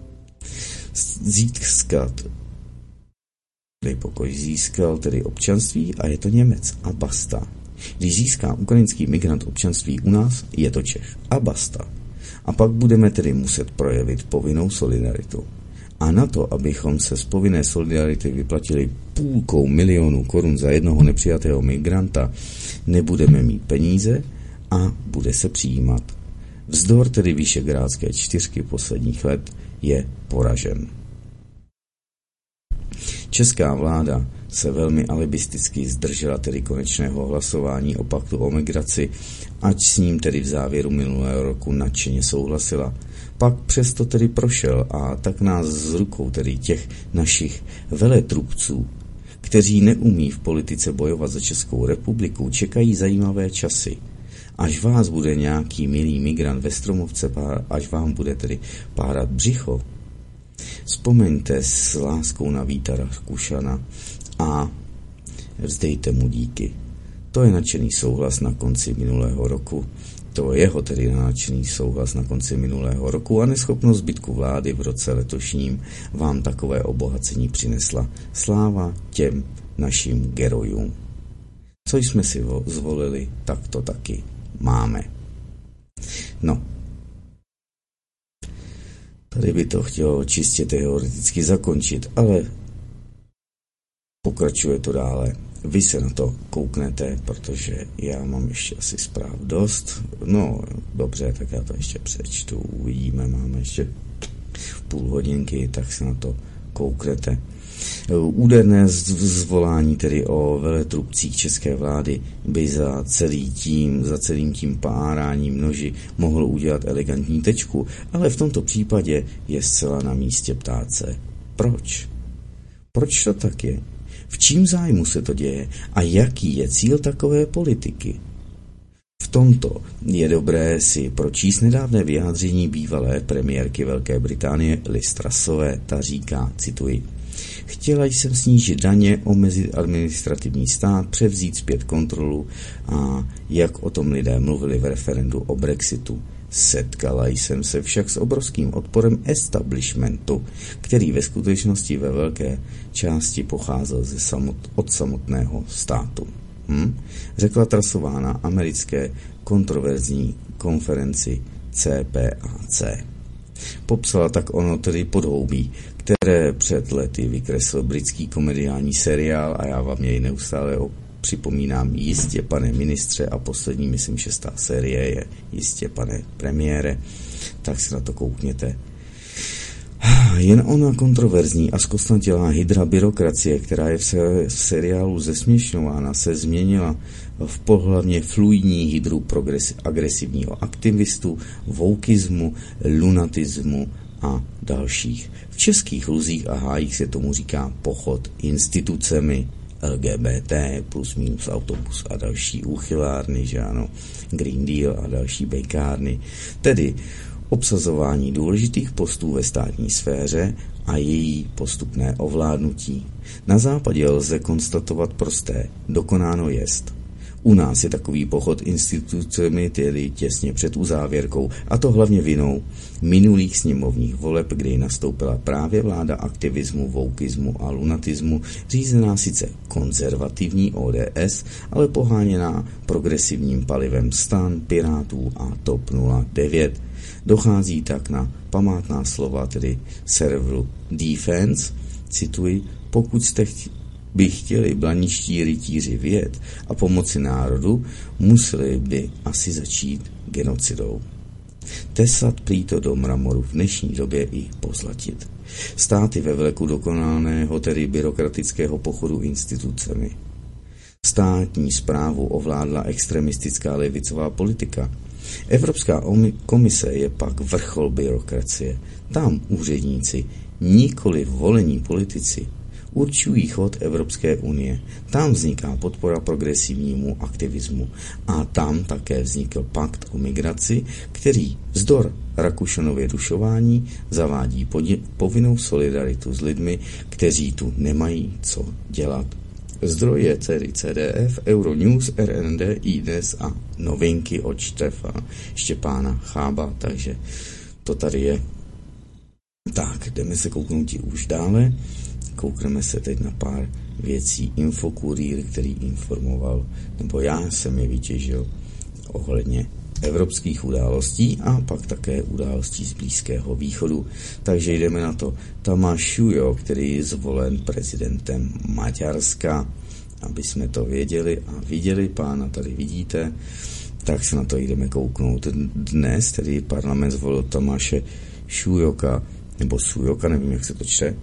Získat, dej pokoj, získal tedy občanství a je to Němec a basta. Když získá ukrajinský migrant občanství u nás, je to Čech a basta. A pak budeme tedy muset projevit povinnou solidaritu. A na to, abychom se z povinné solidarity vyplatili půlkou milionů korun za jednoho nepřijatého migranta, nebudeme mít peníze a bude se přijímat. Vzdor tedy Visegrádské čtyřky posledních let je poražen. Česká vláda se velmi alibisticky zdržela tedy konečného hlasování o paktu o migraci, ač s ním tedy v závěru minulého roku nadšeně souhlasila. Pak přesto tedy prošel a tak nás z rukou tedy těch našich veletrubců, kteří neumí v politice bojovat za Českou republiku, čekají zajímavé časy. Až vás bude nějaký milý migrant ve Stromovce, až vám bude tedy párat břicho, vzpomeňte s láskou na Víta Rakušana a vzdejte mu díky. To je nadšený souhlas na konci minulého roku. To je jeho tedy nadšený souhlas na konci minulého roku a neschopnost zbytku vlády v roce letošním vám takové obohacení přinesla. Sláva těm našim gerojům. Co jsme si zvolili, tak to taky máme. No. Tady by to chtělo čistě teoreticky zakončit, ale pokračuje to dále. vy se na to kouknete, protože já mám ještě asi zpráv dost. No, dobře, tak já to ještě přečtu, uvidíme, máme ještě půl hodinky, tak se na to kouknete. Úderné zvolání tedy o veletrubcích české vlády by za, celý tím, za celým tím páráním noži mohlo udělat elegantní tečku, ale v tomto případě je zcela na místě ptát se, proč? Proč to tak je? V čím zájmu se to děje a jaký je cíl takové politiky? V tomto je dobré si pročíst nedávné vyjádření bývalé premiérky Velké Británie Liz Trussové. Ta říká, cituji, chtěla jsem snížit daně, omezit administrativní stát, převzít zpět kontrolu a jak o tom lidé mluvili v referendu o Brexitu. Setkala jsem se však s obrovským odporem establishmentu, který ve skutečnosti ve velké části pocházel ze samot, od samotného státu. Hm? Řekla Trussová na americké kontroverzní konferenci C P A C. Popsala tak ono tedy podhoubí, které před lety vykreslil britský komediální seriál a já vám jej neustále připomínám, jistě pane ministře, a poslední, myslím, šestá série je jistě pane premiére, tak se na to koukněte. Jen ona kontroverzní a zkostnatělá hydra byrokracie, která je v, se, v seriálu zesměšňována, se změnila v pohlavně fluidní hydru progresi- agresivního aktivistu, woukismu, lunatismu a dalších. V českých luzích a hájích se tomu říká pochod institucemi, L G B T, plus minus autobus a další úchylárny, že ano, Green Deal a další bejkárny, tedy obsazování důležitých postů ve státní sféře a její postupné ovládnutí. Na západě lze konstatovat prosté, dokonáno jest. U nás je takový pochod institucemi tedy těsně před uzávěrkou, a to hlavně vinou minulých sněmovních voleb, kdy nastoupila právě vláda aktivismu, woukismu a lunatismu, řízená sice konzervativní O D S, ale poháněná progresivním palivem STAN, Pirátů a TOP nula devět. Dochází tak na památná slova tedy serveru Defense, cituji, pokud jste chtě, by chtěli blaničtí rytíři vyjet a pomoci národu, museli by asi začít genocidou. Tesat prý to do mramoru v dnešní době i pozlatit. Státy ve vleku dokonalého, tedy byrokratického pochodu institucemi. Státní správu ovládla extremistická levicová politika. Evropská komise je pak vrchol byrokracie. Tam úředníci, nikoli volení politici, určují chod Evropské unie. Tam vzniká podpora progresivnímu aktivismu. A tam také vznikl pakt o migraci, který vzdor Rakušanově dušování zavádí podě- povinnou solidaritu s lidmi, kteří tu nemají co dělat. Zdroje tedy C D F, Euronews, R N D, iDnes a novinky od Štefa Štěpána Chába, takže to tady je. Tak, jdeme se kouknout už dále. Koukneme se teď na pár věcí. Infokurýr, který informoval, nebo já jsem je vytěžil ohledně evropských událostí a pak také událostí z Blízkého východu. Takže jdeme na to. Tamáš Šujo, který je zvolen prezidentem Maďarska, aby jsme to věděli a viděli, pána tady vidíte, tak se na to jdeme kouknout. Dnes tedy parlament zvolil Tamáše Šujoka, nebo Sujoka, nevím, jak se to čte,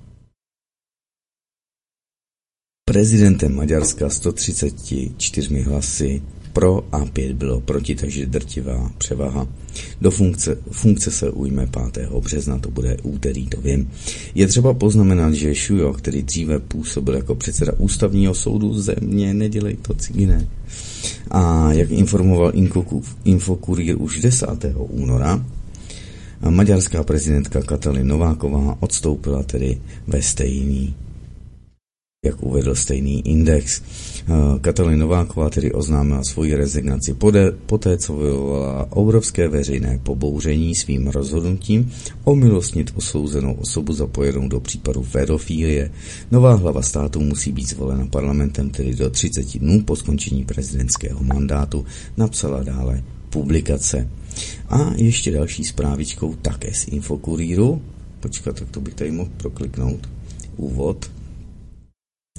prezidentem Maďarska sto třicet čtyři hlasy pro a pět bylo proti, takže drtivá převaha. Do funkce, funkce se ujme pátého března, to bude úterý, to vím. Je třeba poznamenat, že Šujo, který dříve působil jako předseda ústavního soudu země, nedělej to ciginé. A jak informoval Infokurýr už desátého února, maďarská prezidentka Katalin Nováková odstoupila tedy ve stejný jak uvedl stejný index. Katalin Nováková tedy oznámila svoji rezignaci poté, co vyvolala obrovské veřejné pobouření svým rozhodnutím omilostnit osouzenou osobu zapojenou do případu pedofílie. Nová hlava státu musí být zvolena parlamentem tedy do třicet dnů po skončení prezidentského mandátu, napsala dále publikace. A ještě další zprávičkou také z Infokurýru. Počkat, tak to bych tady mohl prokliknout. Úvod.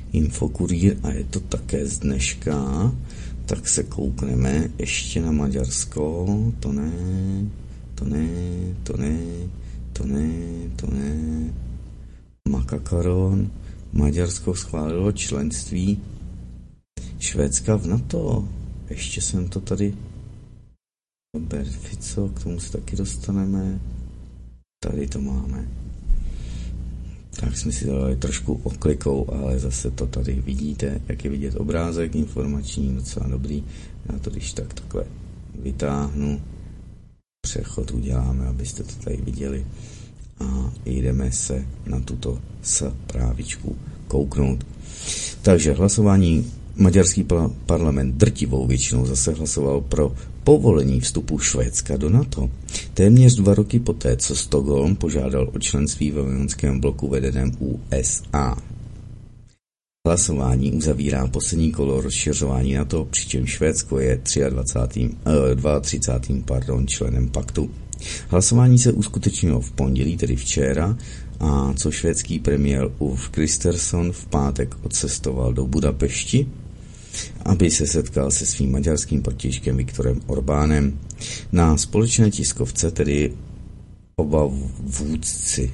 Infokurýr a je to také z dneška, tak se koukneme ještě na Maďarsko, to ne, to ne, to ne, to ne, to ne, Makakaron, Maďarsko schválilo členství Švédska v NATO, ještě jsem to tady, Robert Fico, k tomu se taky dostaneme, tady to máme. Tak jsme si dali trošku oklikou, ale zase to tady vidíte, jak je vidět obrázek informační, docela dobrý. Já to když tak takhle vytáhnu, přechod uděláme, abyste to tady viděli a jdeme se na tuto zprávičku kouknout. Takže hlasování, maďarský parlament drtivou většinou zase hlasoval pro povolení vstupu Švédska do NATO. Téměř dva roky poté, co Stockholm požádal o členství ve vojenském bloku vedeném U S A. Hlasování uzavírá poslední kolo rozšiřování NATO, přičemž Švédsko je třicátým, třicátým druhým pardon, členem paktu. Hlasování se uskutečnilo v pondělí, tedy včera, a co švédský premiér Ulf Kristersson v pátek odcestoval do Budapešti, aby se setkal se svým maďarským protějškem Viktorem Orbánem. Na společné tiskovce tedy oba vůdci,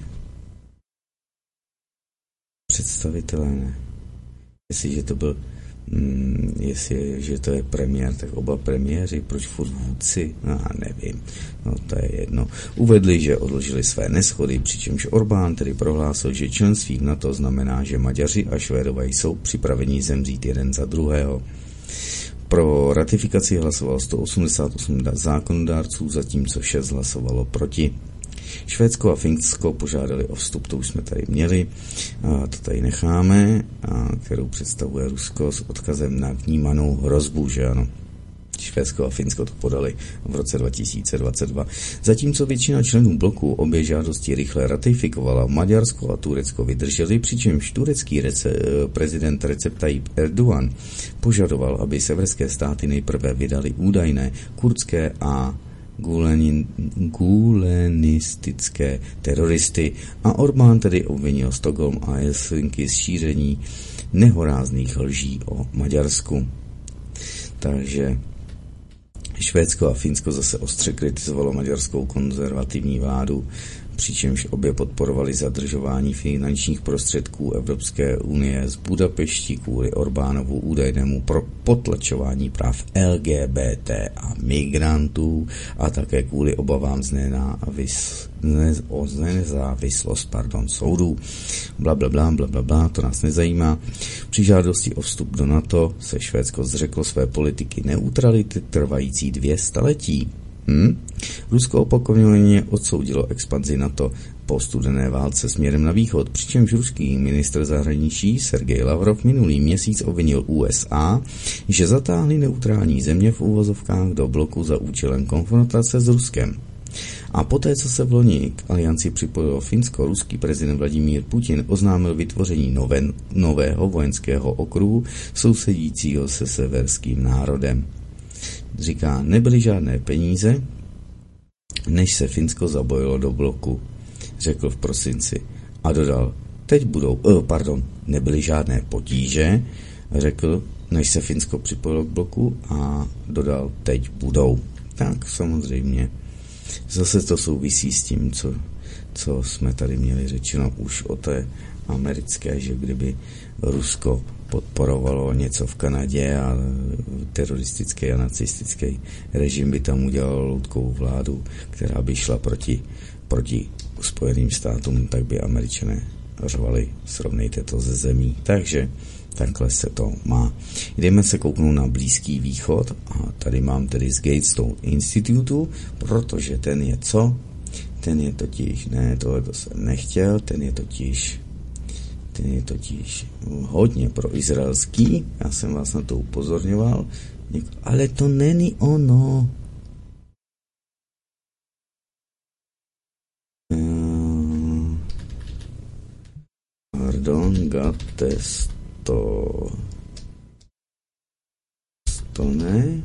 představitelé, ne. Jestliže to byl, mm, jestli, že to je premiér, tak oba premiéři, proč furt vůdci? No, nevím, no to je jedno. Uvedli, že odložili své neschody, přičemž Orbán tedy prohlásil, že členství v NATO znamená, že Maďaři a Švédové jsou připraveni zemřít jeden za druhého. Pro ratifikaci hlasovalo sto osmdesát osm zákonodárců, zatímco šest hlasovalo proti. Švédsko a Finsko požádali o vstup, to už jsme tady měli, a to tady necháme, a kterou představuje Rusko s odkazem na vnímanou hrozbu, že ano. Švédsko a Finsko to podali v roce dva tisíce dvacet dva. Zatímco většina členů bloku obě žádosti rychle ratifikovala, Maďarsko a Turecko vydrželi, přičemž turecký rece, prezident Recep Tayyip Erdogan požadoval, aby severské státy nejprve vydali údajné kurdské a gulenistické teroristy a Orbán tedy obvinil Stockholm a Helsinki z šíření nehorázných lží o Maďarsku. Takže Švédsko a Finsko zase ostře kritizovalo maďarskou konzervativní vládu, přičemž obě podporovali zadržování finančních prostředků Evropské unie z Budapešti kvůli Orbánovu údajnému potlačování práv L G B T a migrantů a také kvůli obavám z nenávis, ne, o nezávislost pardon, soudů. Blablabla, blablabla, to nás nezajímá. Při žádosti o vstup do NATO se Švédsko zřeklo své politiky neutrality trvající dvě staletí. Hmm? Rusko opakovaně odsoudilo expanzi NATO po studené válce směrem na východ, přičemž ruský ministr zahraničí Sergej Lavrov minulý měsíc obvinil U S A, že zatáhli neutrální země v uvozovkách do bloku za účelem konfrontace s Ruskem. A poté, co se v loni k alianci připojilo Finsko, ruský prezident Vladimír Putin oznámil vytvoření nové, nového vojenského okruhu sousedícího se severským národem. Říká, nebyly žádné peníze, než se Finsko zabojilo do bloku, řekl v prosinci. A dodal, teď budou, eh, pardon, nebyly žádné potíže, řekl, než se Finsko připojilo k bloku a dodal, teď budou. Tak samozřejmě. Zase to souvisí s tím, co, co jsme tady měli řečeno už o té americké, že kdyby Rusko podporovalo něco v Kanadě a teroristický a nacistický režim by tam udělal loutkovou vládu, která by šla proti, proti Spojeným státům, tak by Američané řvali, srovnejte to ze zemí. Takže takhle se to má. Jdeme se kouknout na Blízký východ a tady mám tedy z Gatestone Institutu, protože ten je co? Ten je totiž, ne, tohle to jsem nechtěl, ten je totiž ten je totiž hodně proizraelský, já jsem vás na to upozorňoval, ale to není ono. Pardon, gates to to ne.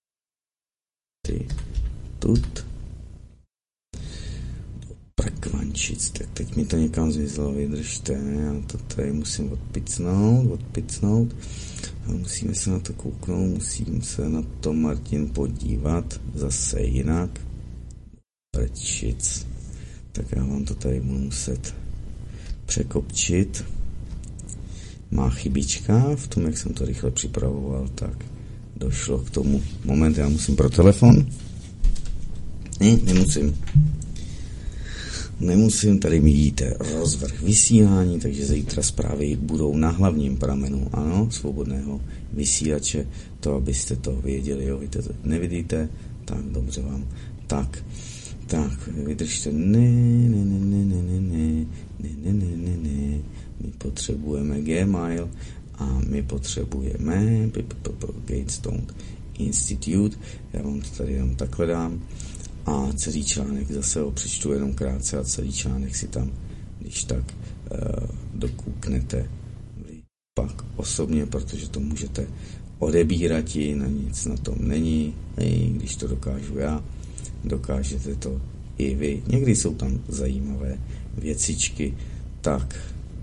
Ty tut prakvaň Benčic, tak teď mi to někam zmizlo, vydržte, já to tady musím odpicnout, odpicnout a musíme se na to kouknout, musím se na to, Martin, podívat zase jinak. Benčic, tak já vám to tady budu muset překopčit. Má chybička v tom, jak jsem to rychle připravoval, tak došlo k tomu. Moment, já musím pro telefon. Ne, nemusím. Nemusím, tady mi vidíte rozvrh vysílání, takže zítra zprávy budou na hlavním pramenu, ano, svobodného vysílače, to abyste to věděli, jo, vy to nevidíte, tak dobře vám, tak, tak, vydržte, ne, ne, ne, ne, ne, ne, ne, ne, ne, ne, ne, my potřebujeme Gmail a my potřebujeme Gatestone Institute, já vám to tady jenom takhle dám. A celý článek zase ho přečtu jenom krátce a celý článek si tam, když tak, uh, dokouknete vy pak osobně, protože to můžete odebírat i na nic na tom není, i když to dokážu já, dokážete to i vy. Někdy jsou tam zajímavé věcičky, tak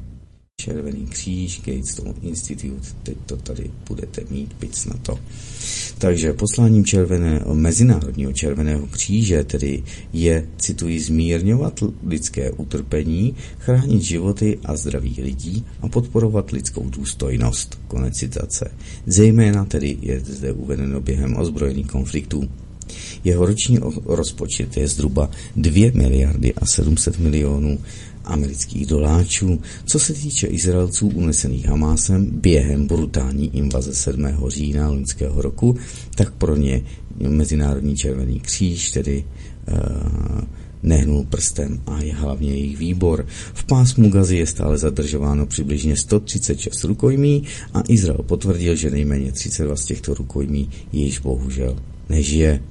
Červený kříž, Gatestone Institute, teď to tady budete mít, pic na to. Takže posláním červeného, Mezinárodního červeného kříže tedy je, cituji, zmírňovat lidské utrpení, chránit životy a zdraví lidí a podporovat lidskou důstojnost. Konec citace. Zejména tedy je zde uvedeno během ozbrojených konfliktů. Jeho roční rozpočet je zhruba dvě miliardy a sedm set milionů amerických doláčů. Co se týče Izraelců unesených Hamásem během brutální invaze sedmého října loňského roku, tak pro ně Mezinárodní červený kříž tedy uh, nehnul prstem a je hlavně jejich výbor. V pásmu Gazy je stále zadržováno přibližně sto třicet šest rukojmí a Izrael potvrdil, že nejméně třicet dva z těchto rukojmí již bohužel nežije.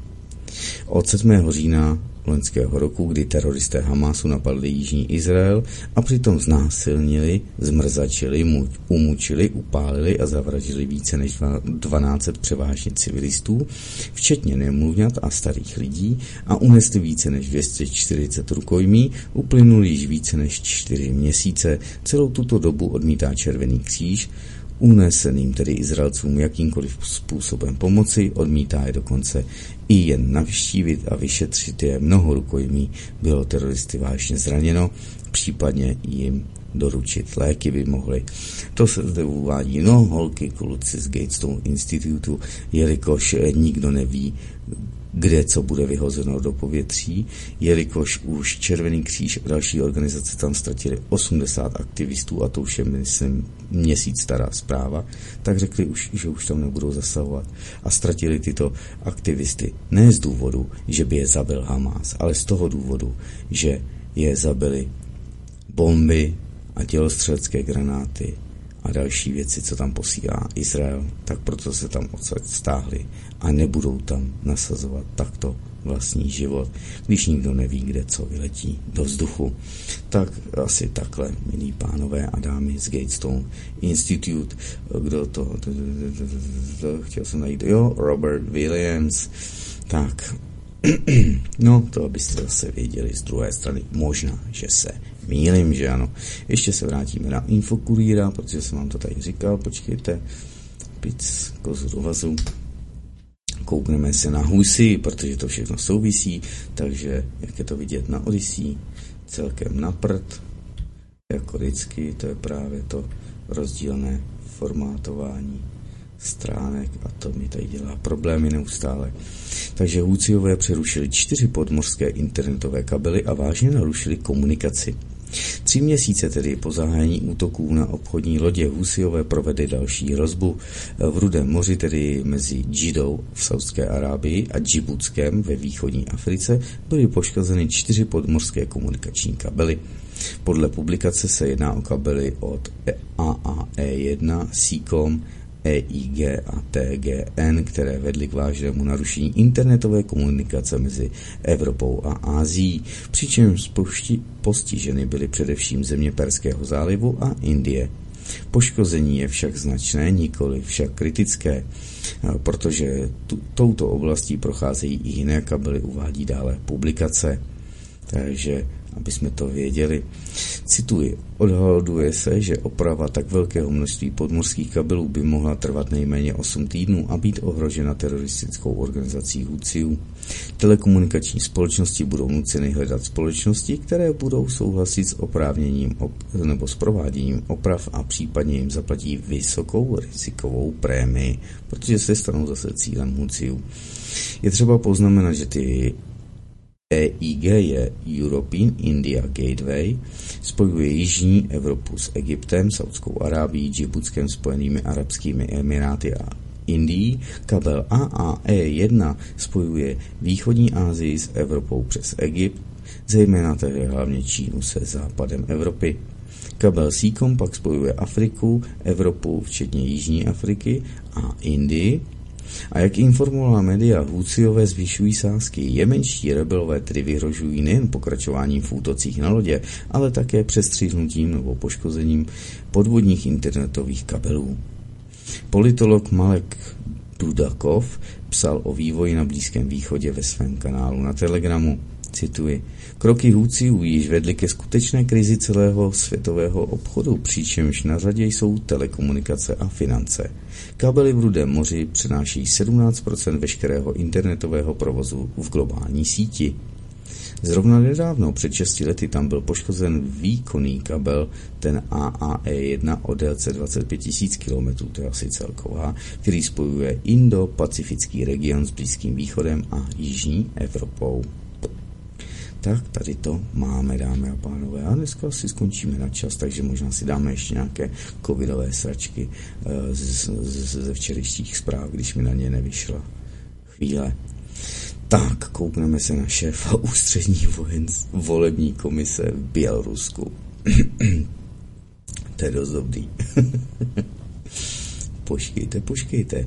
Od sedmého října loňského roku, kdy teroristé Hamásu napadli jižní Izrael a přitom znásilnili, zmrzačili, umučili, upálili a zavraždili více než dvanáct set převážně civilistů, včetně nemluvňat a starých lidí, a unesli více než dvě stě čtyřicet rukojmí, uplynul již více než čtyři měsíce. Celou tuto dobu odmítá Červený kříž uneseným tedy Izraelcům jakýmkoliv způsobem pomoci, odmítá je dokonce i jen navštívit a vyšetřit je. Mnoho rukojmí bylo teroristy vážně zraněno, případně jim doručit léky by mohli. To se zde uvádí, no, holky, kluci z Gatestone Institutu, jelikož nikdo neví, kde co bude vyhozeno do povětří, jelikož už Červený kříž a další organizace tam ztratili osmdesát aktivistů, a to už je, myslím, měsíc stará zpráva, tak řekli už, že už tam nebudou zasahovat a ztratili tyto aktivisty ne z důvodu, že by je zabil Hamás, ale z toho důvodu, že je zabili bomby a dělostřelecké granáty a další věci, co tam posílá Izrael, tak proto se tam odsaď stáhli a nebudou tam nasazovat takto vlastní život, když nikdo neví, kde co vyletí do vzduchu. Tak asi takhle, milí pánové a dámy z Gatestone Institute, kdo to, chtěl jsem najít, jo, Robert Williams, tak, no, to abyste zase věděli z druhé strany, možná, že se mýlím, že ano. Ještě se vrátíme na Infokurýra, protože jsem vám to tady říkal, počkejte, pic kozu do vazu. Koukneme se na Husy, protože to všechno souvisí, takže jak je to vidět na Odyssey, celkem na prd, jako vždycky, to je právě to rozdílné formátování stránek a to mi tady dělá problémy neustále. Takže Houthijové přerušili čtyři podmořské internetové kabely a vážně narušili komunikaci. Tři měsíce tedy po zahájení útoků na obchodní lodě Houthijové provedli další hrozbu. V Rudém moři, tedy mezi Džidou v Saudské Arábii a Džibutskem ve východní Africe, byly poškozeny čtyři podmořské komunikační kabely. Podle publikace se jedná o kabely od A A E jedna, SEACOM, E I G a T G N, které vedly k vážnému narušení internetové komunikace mezi Evropou a Ázií, přičemž postiženy byly především země Perského zálivu a Indie. Poškození je však značné, nikoli však kritické, protože tu, touto oblastí procházejí i jiné kabely, uvádí dále publikace. Takže aby jsme to věděli. Cituji, odhaduje se, že oprava tak velkého množství podmořských kabelů by mohla trvat nejméně osm týdnů a být ohrožena teroristickou organizací Houthijů. Telekomunikační společnosti budou nuceny hledat společnosti, které budou souhlasit s oprávněním op- nebo s prováděním oprav a případně jim zaplatí vysokou rizikovou prémii, protože se stanou zase cílem Houthijů. Je třeba poznamenat, že ty E I G je European India Gateway, spojuje jižní Evropu s Egyptem, Saudskou Arábií, Džibutskem, Spojenými arabskými emiráty a Indií. Kabel A A E jedna spojuje východní Asii s Evropou přes Egypt, zejména tedy hlavně Čínu se západem Evropy. Kabel SEACOM pak spojuje Afriku, Evropu, včetně Jižní Afriky a Indii. A jak informovala média, Houthijové zvyšují sázky. Jemenští rebelové tedy vyhrožují nejen pokračováním v útocích na lodě, ale také přestřihnutím nebo poškozením podvodních internetových kabelů. Politolog Malek Dudakov psal o vývoji na Blízkém východě ve svém kanálu na Telegramu. Cituji, kroky Houthijů již vedly ke skutečné krizi celého světového obchodu, přičemž na řadě jsou telekomunikace a finance. Kabely v Rudém moři přenáší sedmnáct procent veškerého internetového provozu v globální síti. Zrovna nedávno, před šesti lety, tam byl poškozen výkonný kabel, ten A A E jedna o délce dvacet pět tisíc kilometrů, to je asi celková, který spojuje Indo-Pacifický region s Blízkým východem a Jižní Evropou. Tak tady to máme, dámy a pánové. A dneska si skončíme na čas, takže možná si dáme ještě nějaké covidové sračky z, z, ze včerejších zpráv, když mi na ně nevyšla chvíle. Tak, koukneme se na šéfa ústřední vojensk, volební komise v Bělorusku. To je dost dobrý. Počkejte, počkejte.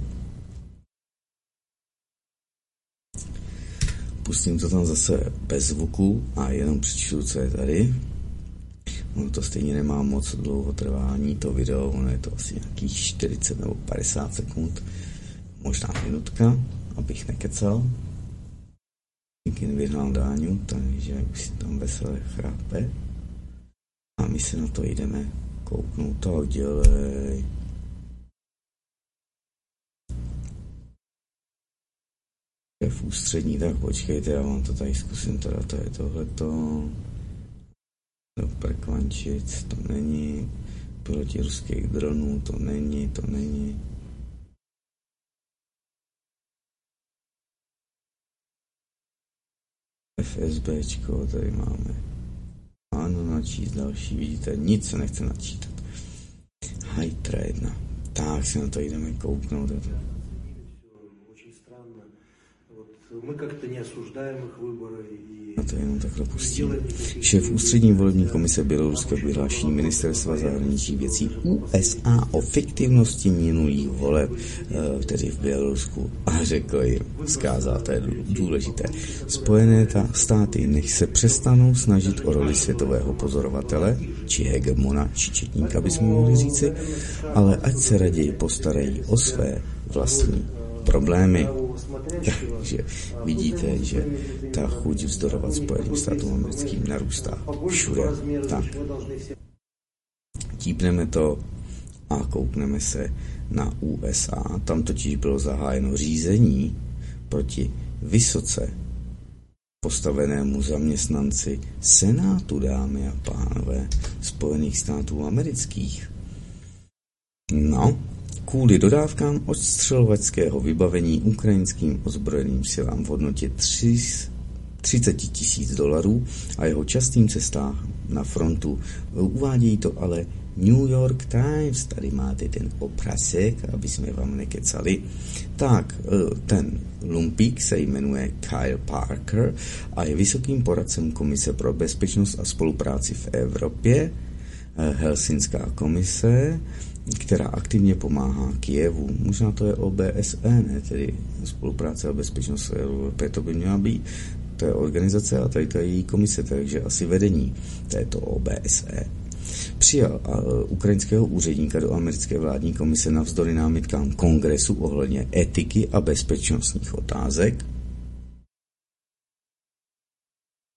Pustím to tam zase bez zvuku a jenom přečtu, co je tady. Ono to stejně nemá moc dlouho trvání, to video, ono je to asi nějakých čtyřicet nebo padesát sekund, možná minutka, abych nekecal. Někým vyhnal Dáňu, takže už si tam veselé chrápe. A my se na to jdeme kouknout, tak dělej. V ústřední, tak počkejte, já vám to tady zkusím, teda to je tohleto. Do Prekvančic, to není. Piloti ruských dronů, to není, to není. FSBčko, tady máme. Ano, načíst další, vidíte, nic se nechce načítat. Hajtra jedna. Tak si na to jdeme kouknout. Мы как-то не осуждаем их выборы. A to jenom takhle pustím. Šéf ústřední volební komise Běloruska vyhlášení ministerstva zahraničních věcí U S A o fiktivnosti minulých voleb, tedy v Bělorusku, a řekl jim, zkázal, to je důležité, Spojené státy nech se přestanou snažit o roli světového pozorovatele, či hegemona, či četníka, bychom mohli říci, ale ať se raději postarají o své vlastní problémy. Takže vidíte, že ta chuť vzdorovat Spojeným státům americkým narůstá všude. Tak. Típneme to a koukneme se na U S A. Tam totiž bylo zahájeno řízení proti vysoce postavenému zaměstnanci Senátu, dámy a pánové, Spojených států amerických. No, kvůli dodávkám odstřelovačského vybavení ukrajinským ozbrojeným silám v hodnotě třicet tisíc dolarů a jeho častým cestách na frontu. Uvádějí to ale New York Times, tady máte ten obrázek, aby jsme vám nekecali. Tak, ten lumpík se jmenuje Kyle Parker a je vysokým poradcem Komise pro bezpečnost a spolupráci v Evropě, Helsinská komise, která aktivně pomáhá Kijevu. Možná to je O B S E, ne, tedy spolupráce a bezpečnost v Evropě, to by měla být. To je organizace a tady to je její komise, takže asi vedení této O B S E. Přijal ukrajinského úředníka do americké vládní komise navzdory námitkám kongresu ohledně etiky a bezpečnostních otázek.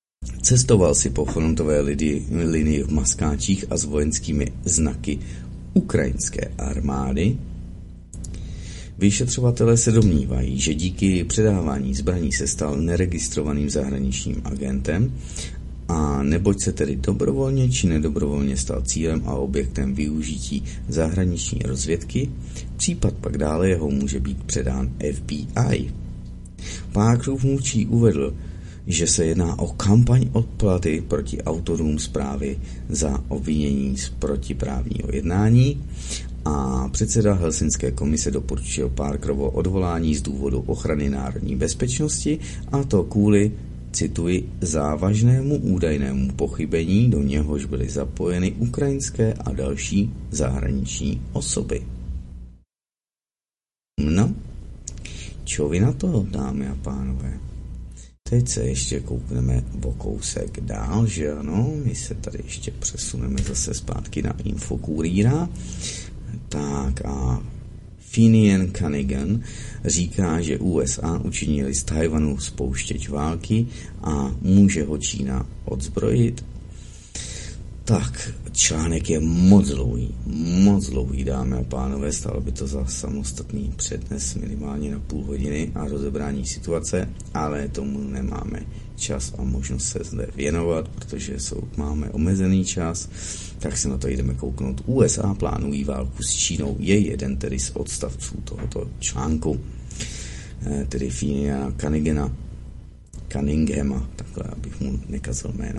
Cestoval si po frontové linii v maskáčích a s vojenskými znaky ukrajinské armády. Vyšetřovatelé se domnívají, že díky předávání zbraní se stal neregistrovaným zahraničním agentem a neboť se tedy dobrovolně či nedobrovolně stal cílem a objektem využití zahraniční rozvědky, případ pak dále jeho může být předán F B I. Parkerův mluvčí uvedl, že se jedná o kampaň odplaty proti autorům zprávy za obvinění z protiprávního jednání a předseda Helsinské komise doporučil Parkerovo odvolání z důvodu ochrany národní bezpečnosti, a to kvůli, cituji, závažnému údajnému pochybení, do něhož byly zapojeny ukrajinské a další zahraniční osoby. No, čo vy na to, dámy a pánové? Teď se ještě koukneme o kousek dál, že ano, my se tady ještě přesuneme zase zpátky na Infokurýra. Tak a Finian Cunningham říká, že U S A učinili z Tajvanu spouštěč války a může ho Čína odzbrojit. Tak, článek je moc dlouhý, moc dlouhý, dámy a pánové, stalo by to za samostatný přednes minimálně na půl hodiny a rozebrání situace, ale tomu nemáme čas a možnost se zde věnovat, protože jsou, máme omezený čas, tak se na to jdeme kouknout. U S A plánují válku s Čínou, je jeden tedy z odstavců tohoto článku, tedy Finiana Cunninghama, Cunninghama, takhle, abych mu nekazil jméno.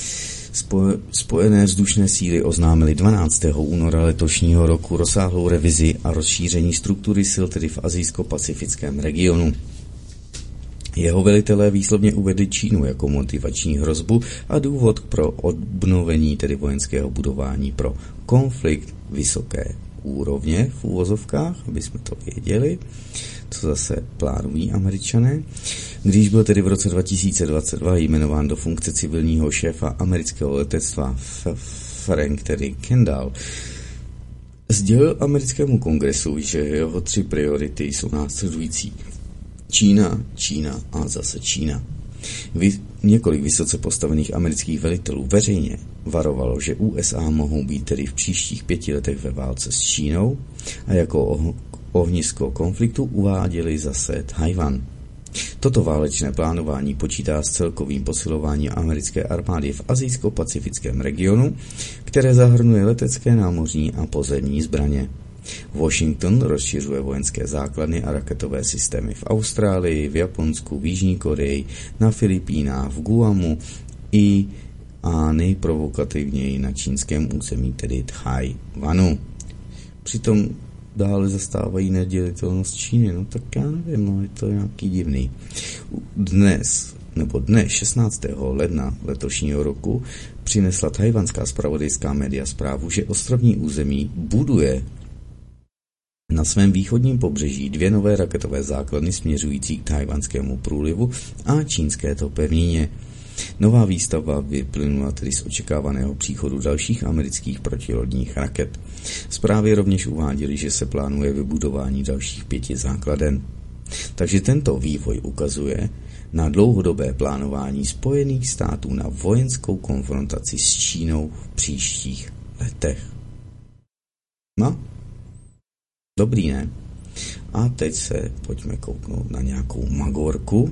Spojené vzdušné síly oznámily dvanáctého února letošního roku rozsáhlou revizi a rozšíření struktury sil tedy v asijsko-pacifickém regionu. Jeho velitelé výslovně uvedli Čínu jako motivační hrozbu a důvod pro obnovení tedy vojenského budování pro konflikt vysoké úrovně v úvozovkách, aby jsme to věděli, co zase plánují Američané. Když byl tedy v roce dva tisíce dvacet dva jmenován do funkce civilního šéfa amerického letectva Frank tedy Kendall, sdělil americkému kongresu, že jeho tři priority jsou následující. Čína, Čína a zase Čína. Vy, několik vysoce postavených amerických velitelů veřejně varovalo, že U S A mohou být tedy v příštích pěti letech ve válce s Čínou a jako oh, ohnisko konfliktu uváděli zase Tajvan. Toto válečné plánování počítá s celkovým posilováním americké armády v asijsko-pacifickém regionu, které zahrnuje letecké, námořní a pozemní zbraně. Washington rozšiřuje vojenské základny a raketové systémy v Austrálii, v Japonsku, v Jižní Koreji, na Filipínách, v Guamu i a nejprovokativněji na čínském území, tedy Tchaj-wanu. Přitom dále zastávají nedělitelnost Číny, no tak já nevím, no je to nějaký divný. Dnes, nebo dne šestnáctého ledna letošního roku přinesla tajvanská zpravodajská média zprávu, že ostrovní území buduje na svém východním pobřeží dvě nové raketové základny směřující k tajvanskému průlivu a čínské to pevnině. Nová výstavba vyplynula tedy z očekávaného příchodu dalších amerických protilodních raket. Zprávy rovněž uváděly, že se plánuje vybudování dalších pěti základen. Takže tento vývoj ukazuje na dlouhodobé plánování Spojených států na vojenskou konfrontaci s Čínou v příštích letech. No, dobrý, ne? A teď se pojďme kouknout na nějakou magorku.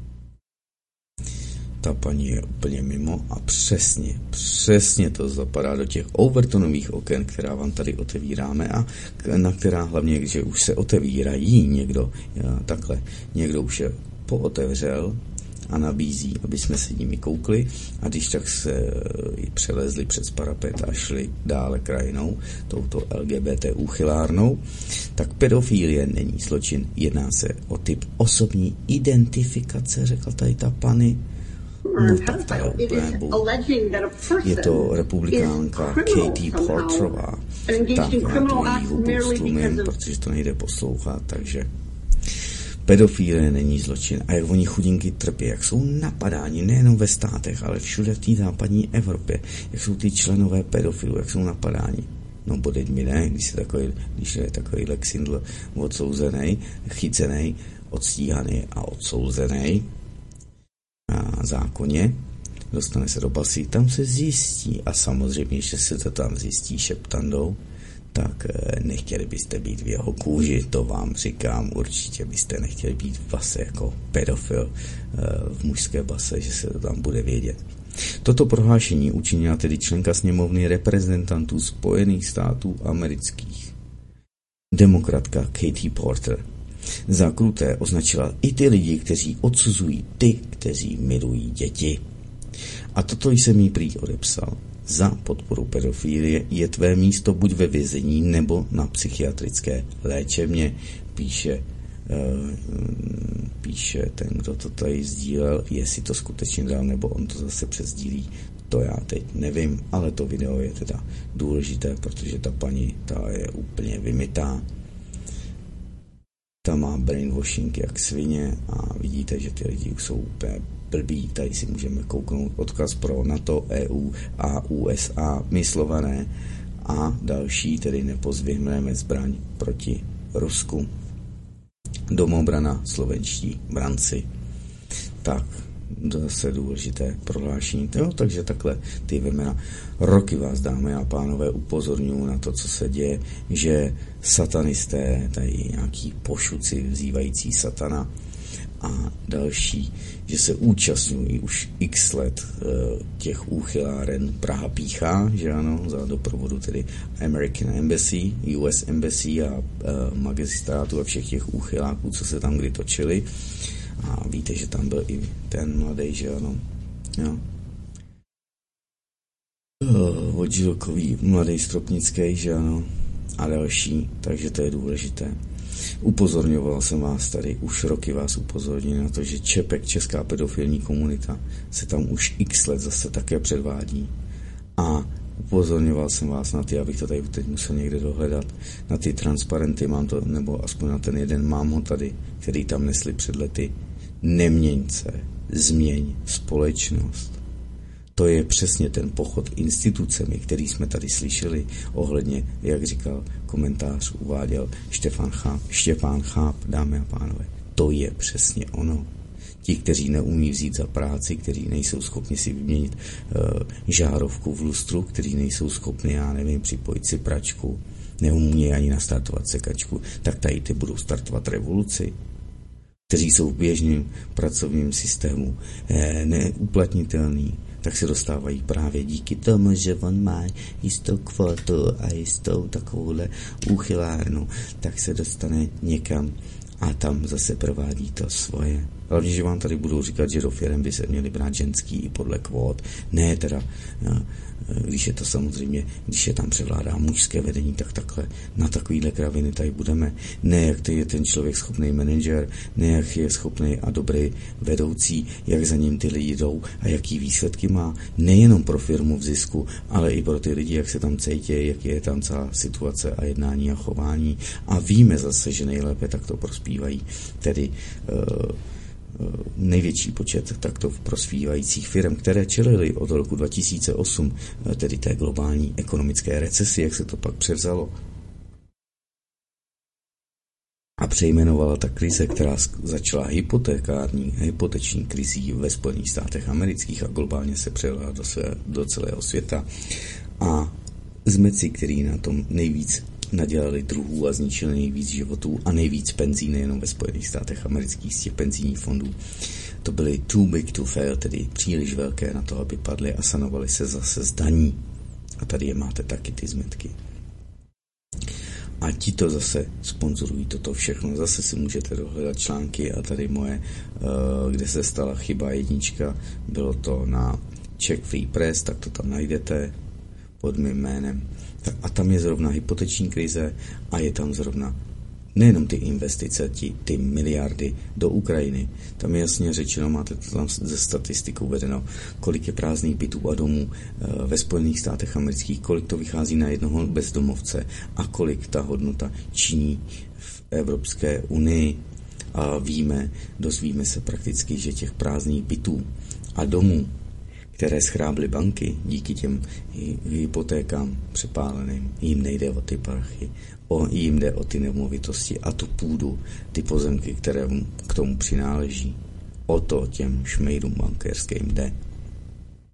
Ta paní je úplně mimo a přesně, přesně to zapadá do těch Overtonových oken, která vám tady otevíráme a na která hlavně, že už se otevírají někdo, takhle, někdo už je pootevřel a nabízí, aby jsme se nimi koukli a když tak se přelezli přes parapet a šli dále krajinou, touto L G B T úchylárnou, tak pedofilie není zločin, jedná se o typ osobní identifikace, řekla tady ta pani. No tak ta je úplně bůh. Je to republikánka Katie Porterová. Tak já tu její hubu stlumím, protože to nejde poslouchat, takže pedofilie není zločin. A jak oni chudinky trpí, jak jsou napadáni nejenom ve státech, ale všude v té západní Evropě, jak jsou ty členové pedofilů, jak jsou napadáni. No bodeď mi ne, když, je takový, když je takový Lexindl odsouzený, chycený, odstíhaný a odsouzený na zákoně, dostane se do basy, tam se zjistí a samozřejmě, že se to tam zjistí šeptandou, tak nechtěli byste být v jeho kůži, to vám říkám, určitě byste nechtěli být v base jako pedofil v mužské base, že se to tam bude vědět. Toto prohlášení učinila tedy členka sněmovny reprezentantů Spojených států amerických. Demokratka Katie Porter za kruté označila i ty lidi, kteří odsuzují ty, kteří milují děti. A toto jsem jí prý odepsal. Za podporu pedofilie je tvé místo buď ve vězení nebo na psychiatrické léčebně, píše, uh, píše ten, kdo to tady sdílel, jestli to skutečně dal, nebo on to zase přesdílí, to já teď nevím, ale to video je teda důležité, protože ta paní, ta je úplně vymytá. Ta má brainwashing jak svině a vidíte, že ty lidi jsou úplně blbí. Tady si můžeme kouknout odkaz pro NATO, E U a U S A, myslované a další, tedy nepozvěhneme zbraň proti Rusku. Domobrana slovenští branci. Tak, zase důležité prohlášení. Jo, takže takhle ty vemena. Roky vás, dámy a pánové, upozorňuji na to, co se děje, že satanisté, tady nějaký pošuci vzývající satana a další, že se účastňují už x let e, těch úchyláren Praha píchá, že ano, za doprovodu tedy American Embassy, U S Embassy a e, magistrátu a všech těch úchyláků, co se tam kdy točili. A víte, že tam byl i ten mladý, že ano, jo. Vodžilkový mladý Stropnický, že ano, a další, takže to je důležité. Upozorňoval jsem vás tady, už roky vás upozorňuji na to, že Čepek, česká pedofilní komunita, se tam už x let zase také předvádí. A upozorňoval jsem vás na ty, abych to tady teď musel někde dohledat, na ty transparenty, mám to, nebo aspoň na ten jeden, mám ho tady, který tam nesli před lety. Neměň se, změň společnost. To je přesně ten pochod institucemi, který jsme tady slyšeli ohledně, jak říkal komentář, uváděl Štefan Cháp, Štěpán Cháp, dámy a pánové. To je přesně ono. Ti, kteří neumí vzít za práci, kteří nejsou schopni si vyměnit uh, žárovku v lustru, kteří nejsou schopni, já nevím, připojit si pračku, neumí ani nastartovat sekačku, tak tady ty budou startovat revoluci. Kteří jsou v běžném pracovním systému eh, neuplatnitelný, tak se dostávají právě díky tomu, že on má jistou kvotu a jistou takovouhle úchylárnu, tak se dostane někam a tam zase provádí to svoje. Hlavně, že vám tady budou říkat, že do firem by se měli brát ženský i podle kvót. Ne teda, když je to samozřejmě, když je tam převládá mužské vedení, tak takhle na takovýhle kraviny tady budeme. Ne, jak to je ten člověk schopný manažer, ne, jak je schopný a dobrý vedoucí, jak za ním ty lidi jdou a jaký výsledky má. Nejenom pro firmu v zisku, ale i pro ty lidi, jak se tam cítí, jak je tam celá situace a jednání a chování. A víme zase, že nejlépe takto prospívají. Tedy uh, největší počet takto prospívajících firm, které čelily od roku dva tisíce osm, tedy té globální ekonomické recesi, jak se to pak převzalo. A přejmenovala ta krize, která začala hypotekární, hypoteční krizí ve Spojených státech amerických a globálně se přelila do, své, do celého světa. A zmeci, který na tom nejvíc nadělali druhů a zničili nejvíc životů a nejvíc penzí nejenom ve Spojených státech amerických z těch penzijních fondů. To byly too big to fail, tedy příliš velké na to, aby padly a sanovaly se zase z daní. A tady je máte taky ty zmetky. A ti to zase sponzorují toto všechno. Zase si můžete dohledat články a tady moje, kde se stala chyba jednička, bylo to na Czech Free Press, tak to tam najdete pod mým jménem. A tam je zrovna hypoteční krize a je tam zrovna nejenom ty investice, ty, ty miliardy do Ukrajiny. Tam je jasně řečeno, máte to tam ze statistikou vedeno, kolik je prázdných bytů a domů ve Spojených státech amerických, kolik to vychází na jednoho bezdomovce a kolik ta hodnota činí v Evropské unii. A víme, dozvíme se prakticky, že těch prázdných bytů a domů, které schrábly banky díky těm hypotékám přepáleným, jim nejde o ty prachy, o, jim jde o ty nemovitosti a tu půdu, ty pozemky, které k tomu přináleží. O to těm šmejdům bankéřským jde.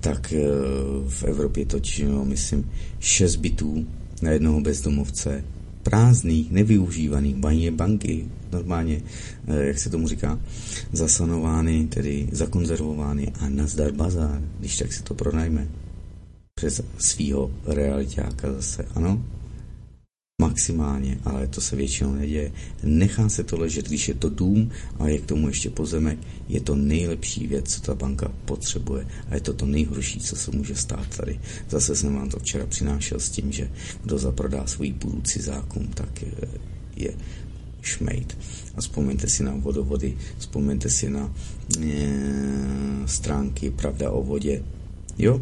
tak v Evropě to činilo, myslím, šest bytů na jednoho bezdomovce, prázdných, nevyužívaných, mají banky, normálně, jak se tomu říká, zasanovány, tedy zakonzervovány a nazdar bazár, když tak si to pronajme přes svýho realitáka zase, ano, maximálně, ale to se většinou neděje. Nechá se to ležet, když je to dům a je k tomu ještě pozemek, je to nejlepší věc, co ta banka potřebuje a je to to nejhorší, co se může stát tady. Zase jsem vám to včera přinášel s tím, že kdo zaprodá svůj půdu cizákům, tak je, je šmejt. A vzpomeňte si na vodovody, vzpomeňte si na e, stránky Pravda o vodě. Jo?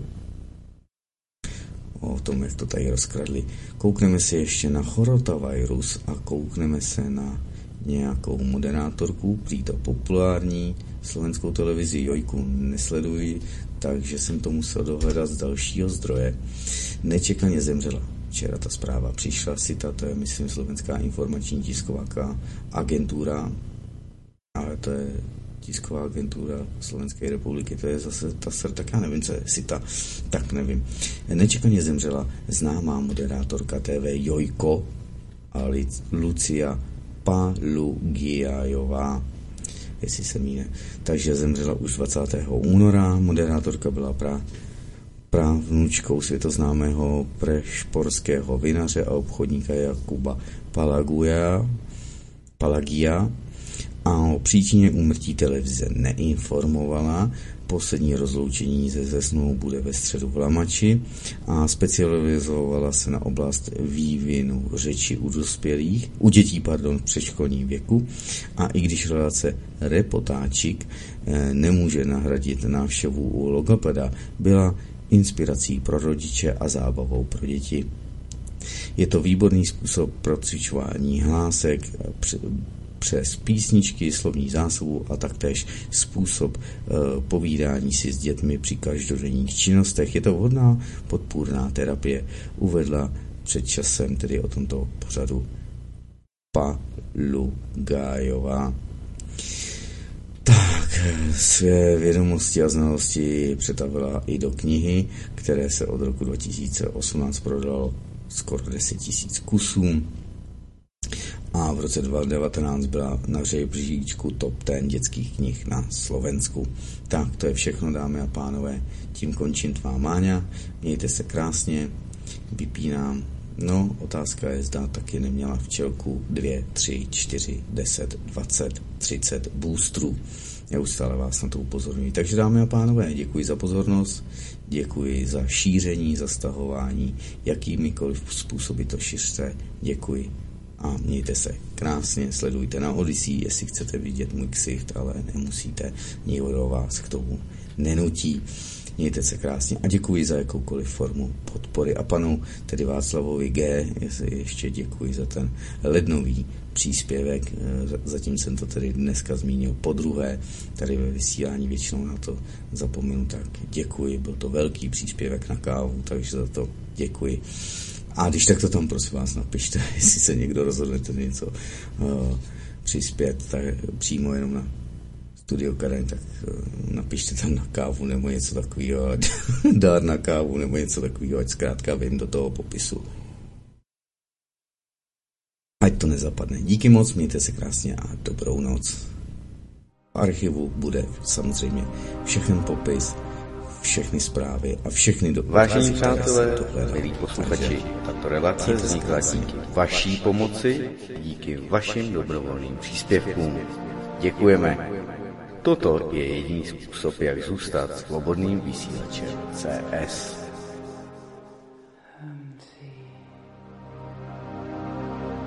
O tom, jak to tady rozkradli. Koukneme se ještě na chorotavirus a koukneme se na nějakou moderátorku, prý to populární, slovenskou televizi Jojku nesleduji, takže jsem to musel dohledat z dalšího zdroje. Nečekaně zemřela. Včera ta zpráva přišla, SITA, to je, myslím, Slovenská informační tisková agentura, ale to je tisková agentura Slovenské republiky, to je zase ta sr, tak já nevím, co je SITA, tak nevím. Nečekaně zemřela známá moderátorka T V Jojko a Lucia Palugiajová, jestli se mýne. Takže zemřela už dvacátého února, moderátorka byla pra, právnučkou světoznámého prešporského vinaře a obchodníka Jakuba Palaguja, Palagia, a o příčině úmrtí televize neinformovala. Poslední rozloučení se Zesnou bude ve středu v Lamači a specializovala se na oblast vývinu řeči u dospělých, u dětí, pardon, v předškolním věku. A i když relace Reportáčik nemůže nahradit návštěvu u logopeda, byla inspirací pro rodiče a zábavou pro děti. Je to výborný způsob pro cvičování hlásek přes písničky, slovní zásobu a taktéž způsob e, povídání si s dětmi při každodenních činnostech. Je to vhodná podpůrná terapie, uvedla před časem tedy o tomto pořadu Palugájová. Tak, své vědomosti a znalosti přetavila i do knihy, které se od roku dva tisíce osmnáct prodalo skoro deset tisíc kusů. A v roce dva tisíce devatenáct byla na žebříčku top deset dětských knih na Slovensku. Tak, to je všechno, dámy a pánové. Tím končím tvá Máňa. Mějte se krásně. Vypínám. No, otázka je, zda taky neměla včelku dvě, tři, čtyři, deset, dvacet, třicet boostrů. Neustále vás na to upozorňuji. Takže, dámy a pánové, děkuji za pozornost, děkuji za šíření, za stahování, jakýmikoliv způsoby to šiřte. Děkuji. A mějte se krásně, sledujte na Odyssey, jestli chcete vidět můj ksicht, ale nemusíte, nikdo vás k tomu nenutí. Mějte se krásně a děkuji za jakoukoliv formu podpory. A panu, tedy Václavovi G, ještě děkuji za ten lednový příspěvek, zatím jsem to tedy dneska zmínil podruhé, tady ve vysílání většinou na to zapomenu, tak děkuji, byl to velký příspěvek na kávu, takže za to děkuji. A když tak to tam prosím vás napište, jestli se někdo rozhodnete něco uh, přispět, tak přímo jenom na Studio Karen, tak uh, napište tam na kávu nebo něco takového, dár na kávu nebo něco takového, ať zkrátka vím do toho popisu. Ať to nezapadne. Díky moc, mějte se krásně a dobrou noc. V archivu bude samozřejmě všechen popis, všechny zprávy a všechny do... Vážení přátelé, milí posluchači, tato relace vznikla díky vaší pomoci, díky vašim dobrovolným příspěvkům. Děkujeme. Toto je jediný způsob, jak zůstat svobodným vysílačem C S.